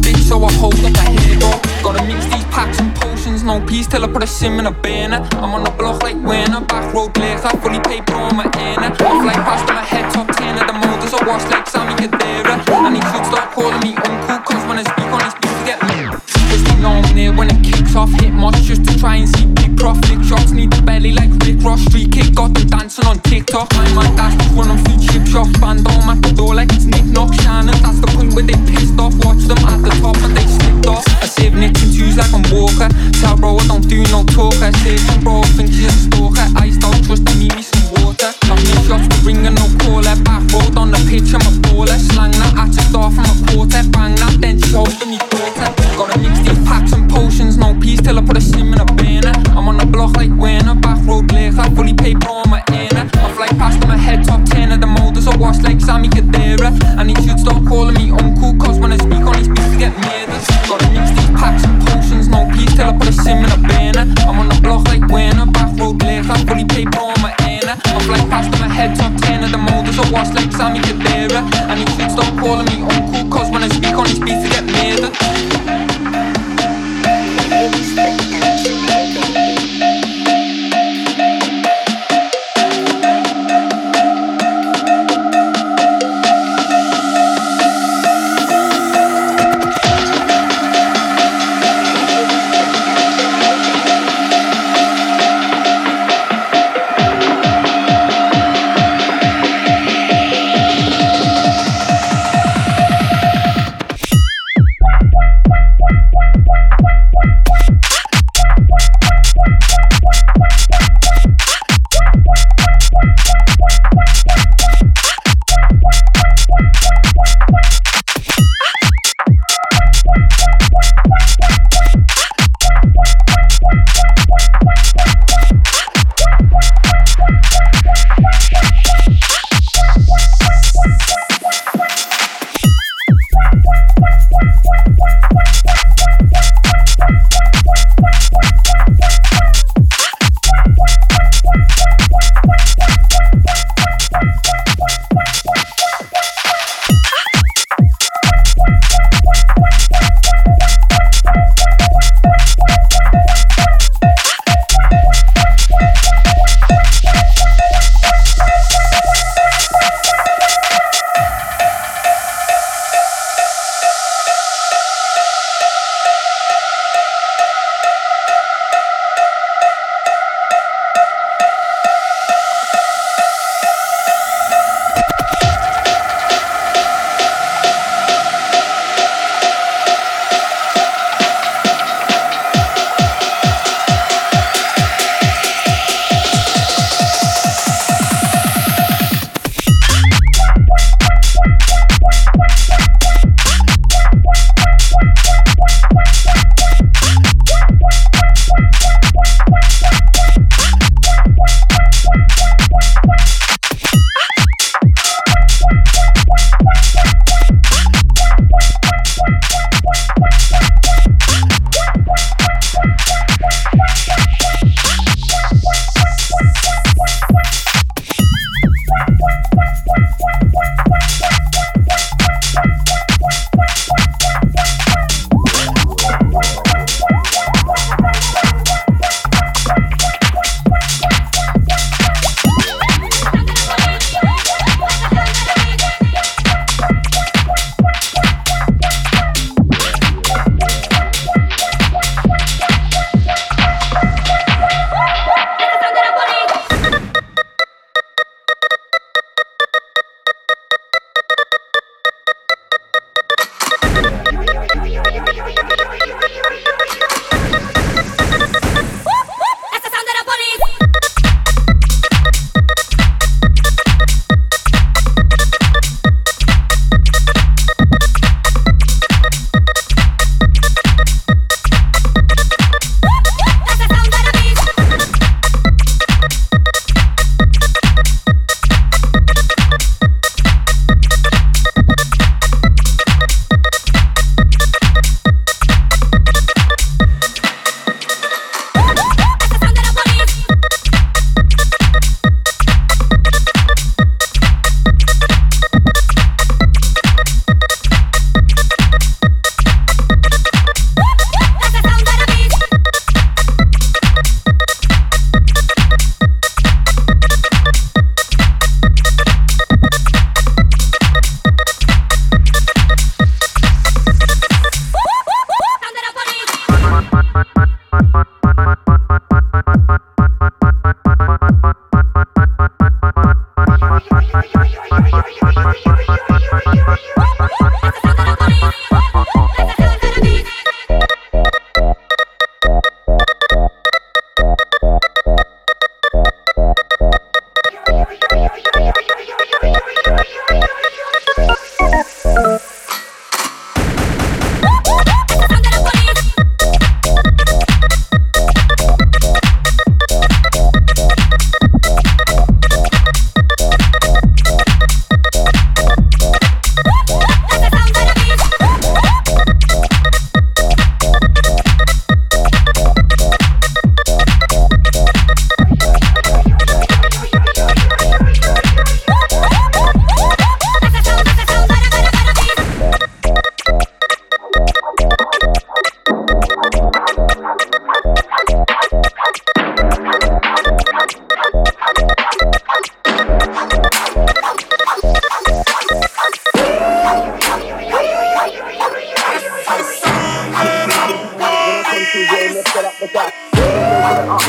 bitch, so I hold up a hair door. Gotta mix these packs and potions, no peace till I put a sim in a banner. I'm on the block like winner, back road legs, I fully paid for my inner. Off like past my head, top ten of the motors, I wash like Sammy Kadera. And he should start calling me uncle, cause when I speak on his beats, get me. Cause they know I'm there when it kicks off, hit much just to try and see big profit. Shots need the belly like Rick Ross, street kick, got them dancing on TikTok. My man dash just running through chip shops, band on at the door like it's Nick Knock Shannon. That's the point where they pissed off, watch them at the top and they slipped off. I save nicks and twos like I'm Walker. Tell bro I don't do no talk, I save some bro, I think she's a stalker. I don't trust, I need me some water. Got me shots to ring and no caller. Back road on the pitch, I'm a baller. Slang that at just off from a quarter.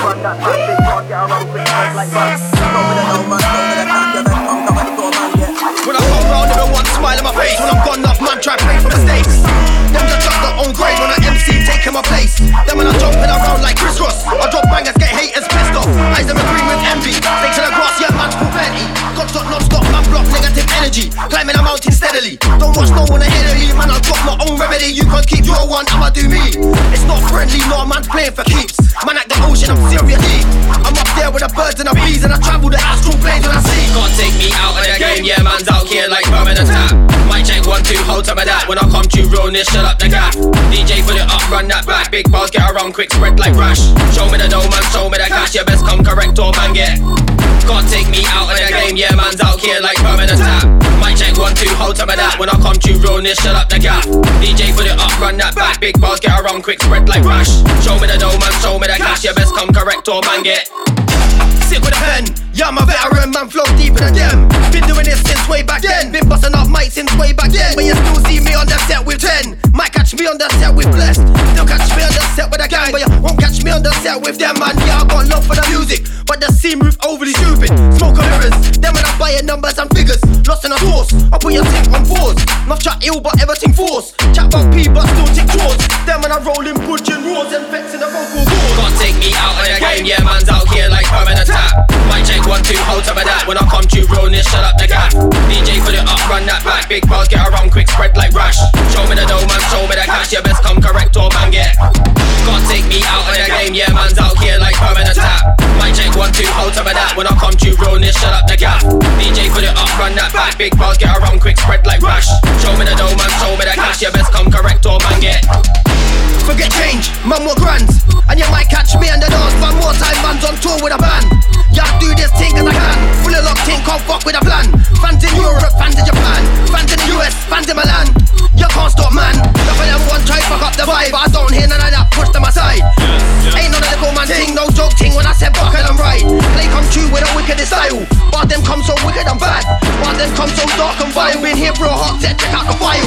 man that massive boy, get around quick, like bus. Show me the no man, show me the cock, you best come come and go man, yeah. When I come round, everyone smile on my face. When I'm gone up, man try play for mistakes. Them just got their own grade when I M C taking my place. Then when I jumping around like Chris Ross, I drop bangers, get haters pissed off. Eyes them agree with envy. Stay to the grass, yeah, man's full plenty. Got stop, non-stop, man block negative energy. Climbing a mountain steadily. Don't watch no one ahead of me, man. I'll drop my own remedy. You can't keep your one, I'ma do me. It's not friendly, no man's playing for keeps. Man like the ocean, I'm serious. I'm up there with the birds and the bees, and I travel the astral planes when I see. Can't take me out of the game, yeah, man's out here like permanent tap. Might check one, two, hold some of that. When I come to realness, shut up the gap. D J put it up, run that back. Big bars get around quick, spread like rash. Show me the dough, man, show me the cash. You best come correct or man get. Can't take me out of the game, yeah, man's out here like permanent tap. Might check one, two, hold some of that. When I come to realness, shut up the gap. D J put it up, run that back. Big bars get around quick, spread like rash. Show me the dough, man, show me the cash. You best come correct or man get. Sit with a pen, yeah, I'm a veteran, man, flow deeper than them. Been doing this since way back then. Been busting up mics since way back then. But you still see me on the set with ten. Might catch me on the set with Blessed. Still catch me on the set with a gang. But you won't catch me on the set with them, man. Yeah, I got love for the music, but the scene move overly stupid. Smoke on mirrors, them when I'm buying numbers and figures. Lost in a source, I put your tick on pause. Not chat ill, but everything force. Chat about P, but still tick towards. Them when I roll in butching roars and vexing the vocal cords. Can't take me out of the game, yeah, man's out here like permanent tap. Might check one, two, hold some of that. When I come to realness, shut up the gap. D J put it up, run that back. Big bars get around quick, spread like rash. Show me the dough, man, show me the cash. You best come correct or man get. Can't take me out of the game, yeah, man's out here like permanent tap. Might check one, two, hold some of that. When I come to realness, shut up the gap. D J put it up, run that back. Big bars get around quick, spread like rash. Show me the dough, man, show me the cash. You best come correct or man get. Forget change, man more grands. And you might catch me on the dance one more time, man's on tour with a band. Yeah, do this thing as I can. Fully locked in, can't fuck with a plan. Fans in Europe, fans in Japan, fans in the U S, fans in Milan. You can't stop, man. Enough of them one try fuck up the vibe, but I don't hear none of that, push them aside. Ain't none of the little man thing, no joke thing when I said buckle and right. Play come true with a wickedest style. But them come so wicked and bad. But them come so dark and vile. Been here for a hot set, check out the file.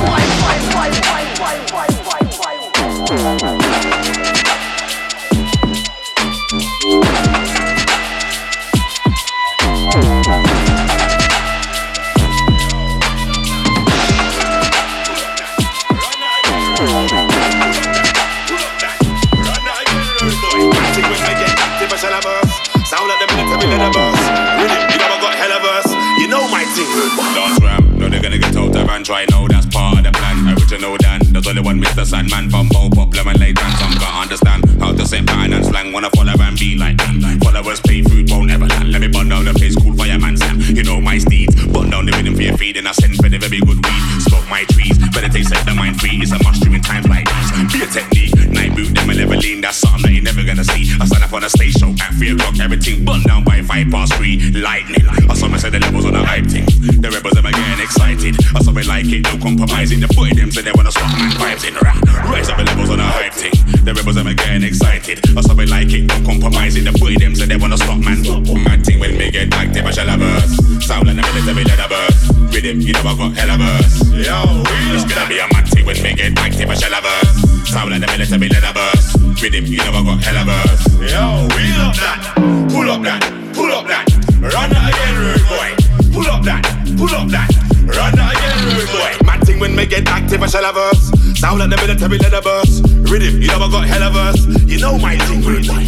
Sound like the military leather verse. Really, you never got hella verse. You know my thing. Last ram, no they're gonna get out of and try. No, that's part of the plan. Original Dan, there's only one Mister Sandman from Bo Pop, Lemon Late and some can't understand how to say pattern and slang. Wanna follow and be like me. Followers pay food, won't ever land. Let me burn down the place, cool fireman Sam. You know my steeds. Burn down the rhythm for your feed and I send for the very good weed. Smoke my trees, meditate, set the mind free. It's a must during times like these. Be a technique. Night boot, them will never lean. That's something that you never gonna see. I stand up on a stage show at three o'clock. Everything burn down by five past three. Lightning. I saw me say the levels on the hype thing. The rebels them are getting excited. I saw me like it, no compromising. The boy them say they wanna swap man vibes in. Rise up the levels on the hype thing. The rebels them are getting excited. I saw me like it, no compromising. The boy them say they wanna swap man. Mad thing when me get active, I shall have burst. Sound like the military leather burst. Rhythm, you know I got hella burst. Yo, it's gonna be a mad thing when me get active, I shall have burst. Sound like the military leather burst. Rhythm, you know I got hella burst. Yo, wheel up that, pull up that, pull up that. Run that again, rude boy. Pull up that, pull up that. Run that again, rude boy. Mad thing when me get active, I shall have verse. Sound like the military leather burst. Rhythm, you know I got hella verse. You know my thing, rude boy.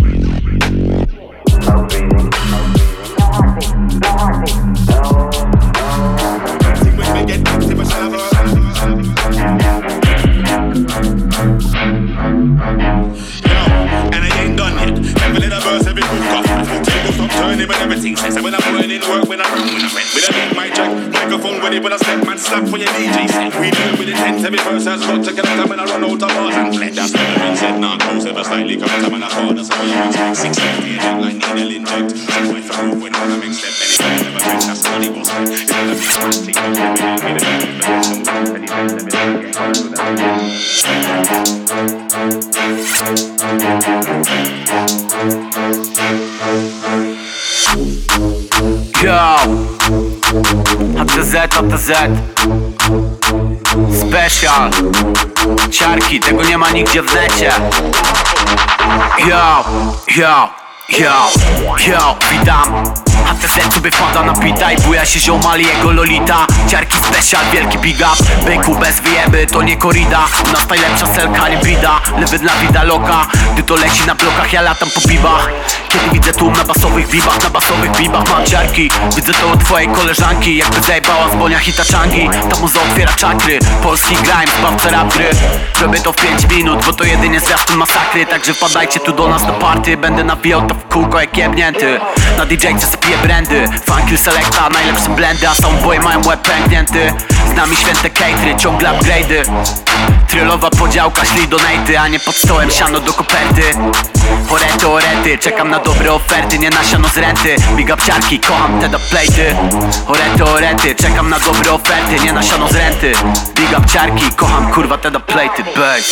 Mad thing when me get active, I shall have verse. And I ain't done yet. Never let a verse every move off. Table stop turning when everything says. And when I'm running work, when I run, when I rent. With a beat, my track, microphone ready, when I step, man, slap for your D J set. We do it with intent, every verse has got to get out when I run out of bars and fled. That's what the ring said, not close, ever slightly come time and I call. That's how you use six fifty, eject like needle inject. Six way for move when I'm a step. Anytime, never been, that's how they go spend. It's gonna be fantastic. Every day, every day, every day, every day, every Yo, A to Z, A to Z Special, ciarki, tego nie ma nigdzie w necie. Yo, yo, yo, yo, witam. A T Z sobie wpada na pita i buja się ziomal jego lolita. Ciarki special, wielki big up. Byku bez wyjeby, to nie korida. U nas najlepsza selka, nie bida. Lewy dla vida loka. Gdy to leci na blokach, ja latam po bibach. Kiedy widzę tłum na basowych bibach, na basowych bibach mam ciarki. Widzę to od twojej koleżanki, jakby zajebała z bonia hita czangi. Ta muza otwiera czakry, polski grime, zbawca rap gry. Robię to w pięć minut, bo to jedynie zwiastun masakry. Także wpadajcie tu do nas do party. Będę nawijał to w kółko jak jebnięty. Na D J-ce spiję brandy, funky selecta, najlepsze blendy. A soundboy mają łeb pęknięty. Z nami święte catery, ciągle upgrade'y. Trylowa podziałka, szli donaty, a nie pod stołem siano do koperty. Orety, orety, czekam na dobre oferty, nie na siano z renty. Big up ciarki, kocham te plejty. Orety, orety, czekam na dobre oferty, nie na siano z renty. Big up ciarki, kocham kurwa te plejty, bass.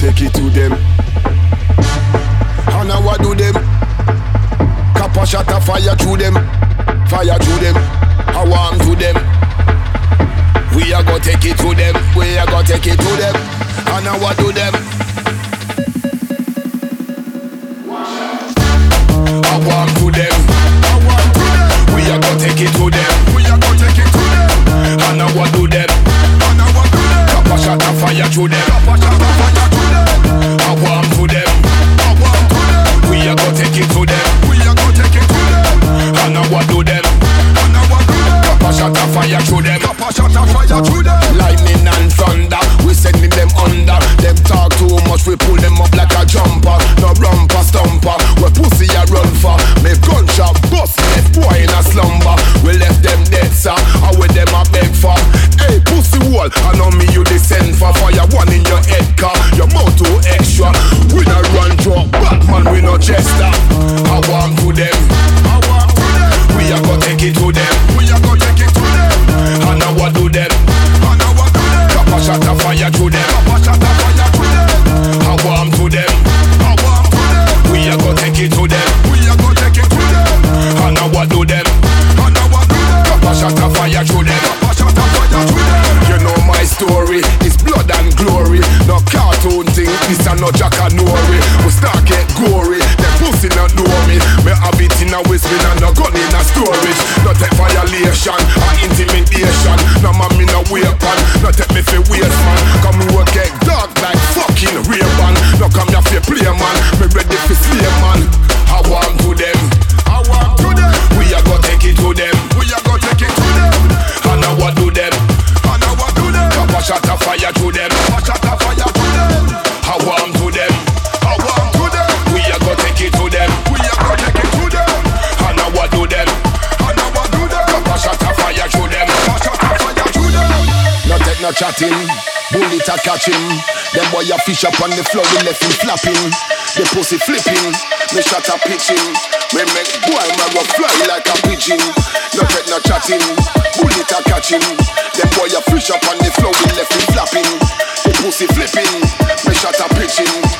take it to them. And now what do them? Kappa shot a fire through them. Fire through them. I warm to them. We are gonna take it to them. We are gonna take it to them. And now what do them? I warm to them. I warm to them. We are gonna take it to them. We are gonna take it to them. And now what do them? And now what do them? Kappa shot a fire through them. Kappa shot a fire through them. I warm to them. I warm to them. We are gonna take it to them. We are gonna take it to them. And now what do them? And now what do them? Kappa shot a fire through them. Kappa shot a fire through them. Lightning and thunder, we sending them under. Them talk too much, we pull them up like a jumper. No rumper stumper, we pussy a run for. Me gunshot bust, left boy in a slumber. We left them dead, sir, and with them a beg for. Hey, pussy wall, I know me you descend for. Fire one in your head car, your mouth too extra. We not run drop, Batman we no jester. I want to them, I want to them. We are gonna take it to them. We are gonna take it to them. And now what do them? And now what do them? Kappa shot a fire to them. Kappa shot a fire to them. I warm to them. I warm to them. We are gonna take it to them. We are gonna take it to them. And now what do them? And now what do them? Kappa shot a fire to them. Kappa shot a fire to them. You know my story, it's blood and glory. No cartoon thing, this a no Jack and Nori. We start get gory, them pussy not know me. Me have it in a whispering and no gun in a storage. No take violation or intimidation. No man me no weapon, no take me for waste man. Come me work get dark like fucking Ray-Ban. No come here for play man, me ready for slay man. I want to them, I want to them. We are gonna take it to them, we are gonna take it to them. And now what do them? And now what do them? Kappa shot a fire to them, Kappa shot a fire to them. I want to them, I want to them. We are gonna take it to them, we are gonna take it to them. And now what do them? And now what do them? Kappa shot a fire to them, Kappa shot a fire to them. No take no chatting, bullet a catch him. Them boy a fish up on the floor, we left him flapping. The pussy flipping, me shot a pitching. We make boy man go fly like a pigeon. No take no chatting, bullet a catch him. Them boy a fish up on the floor, we left him flapping. The pussy flipping, me shot a pitching.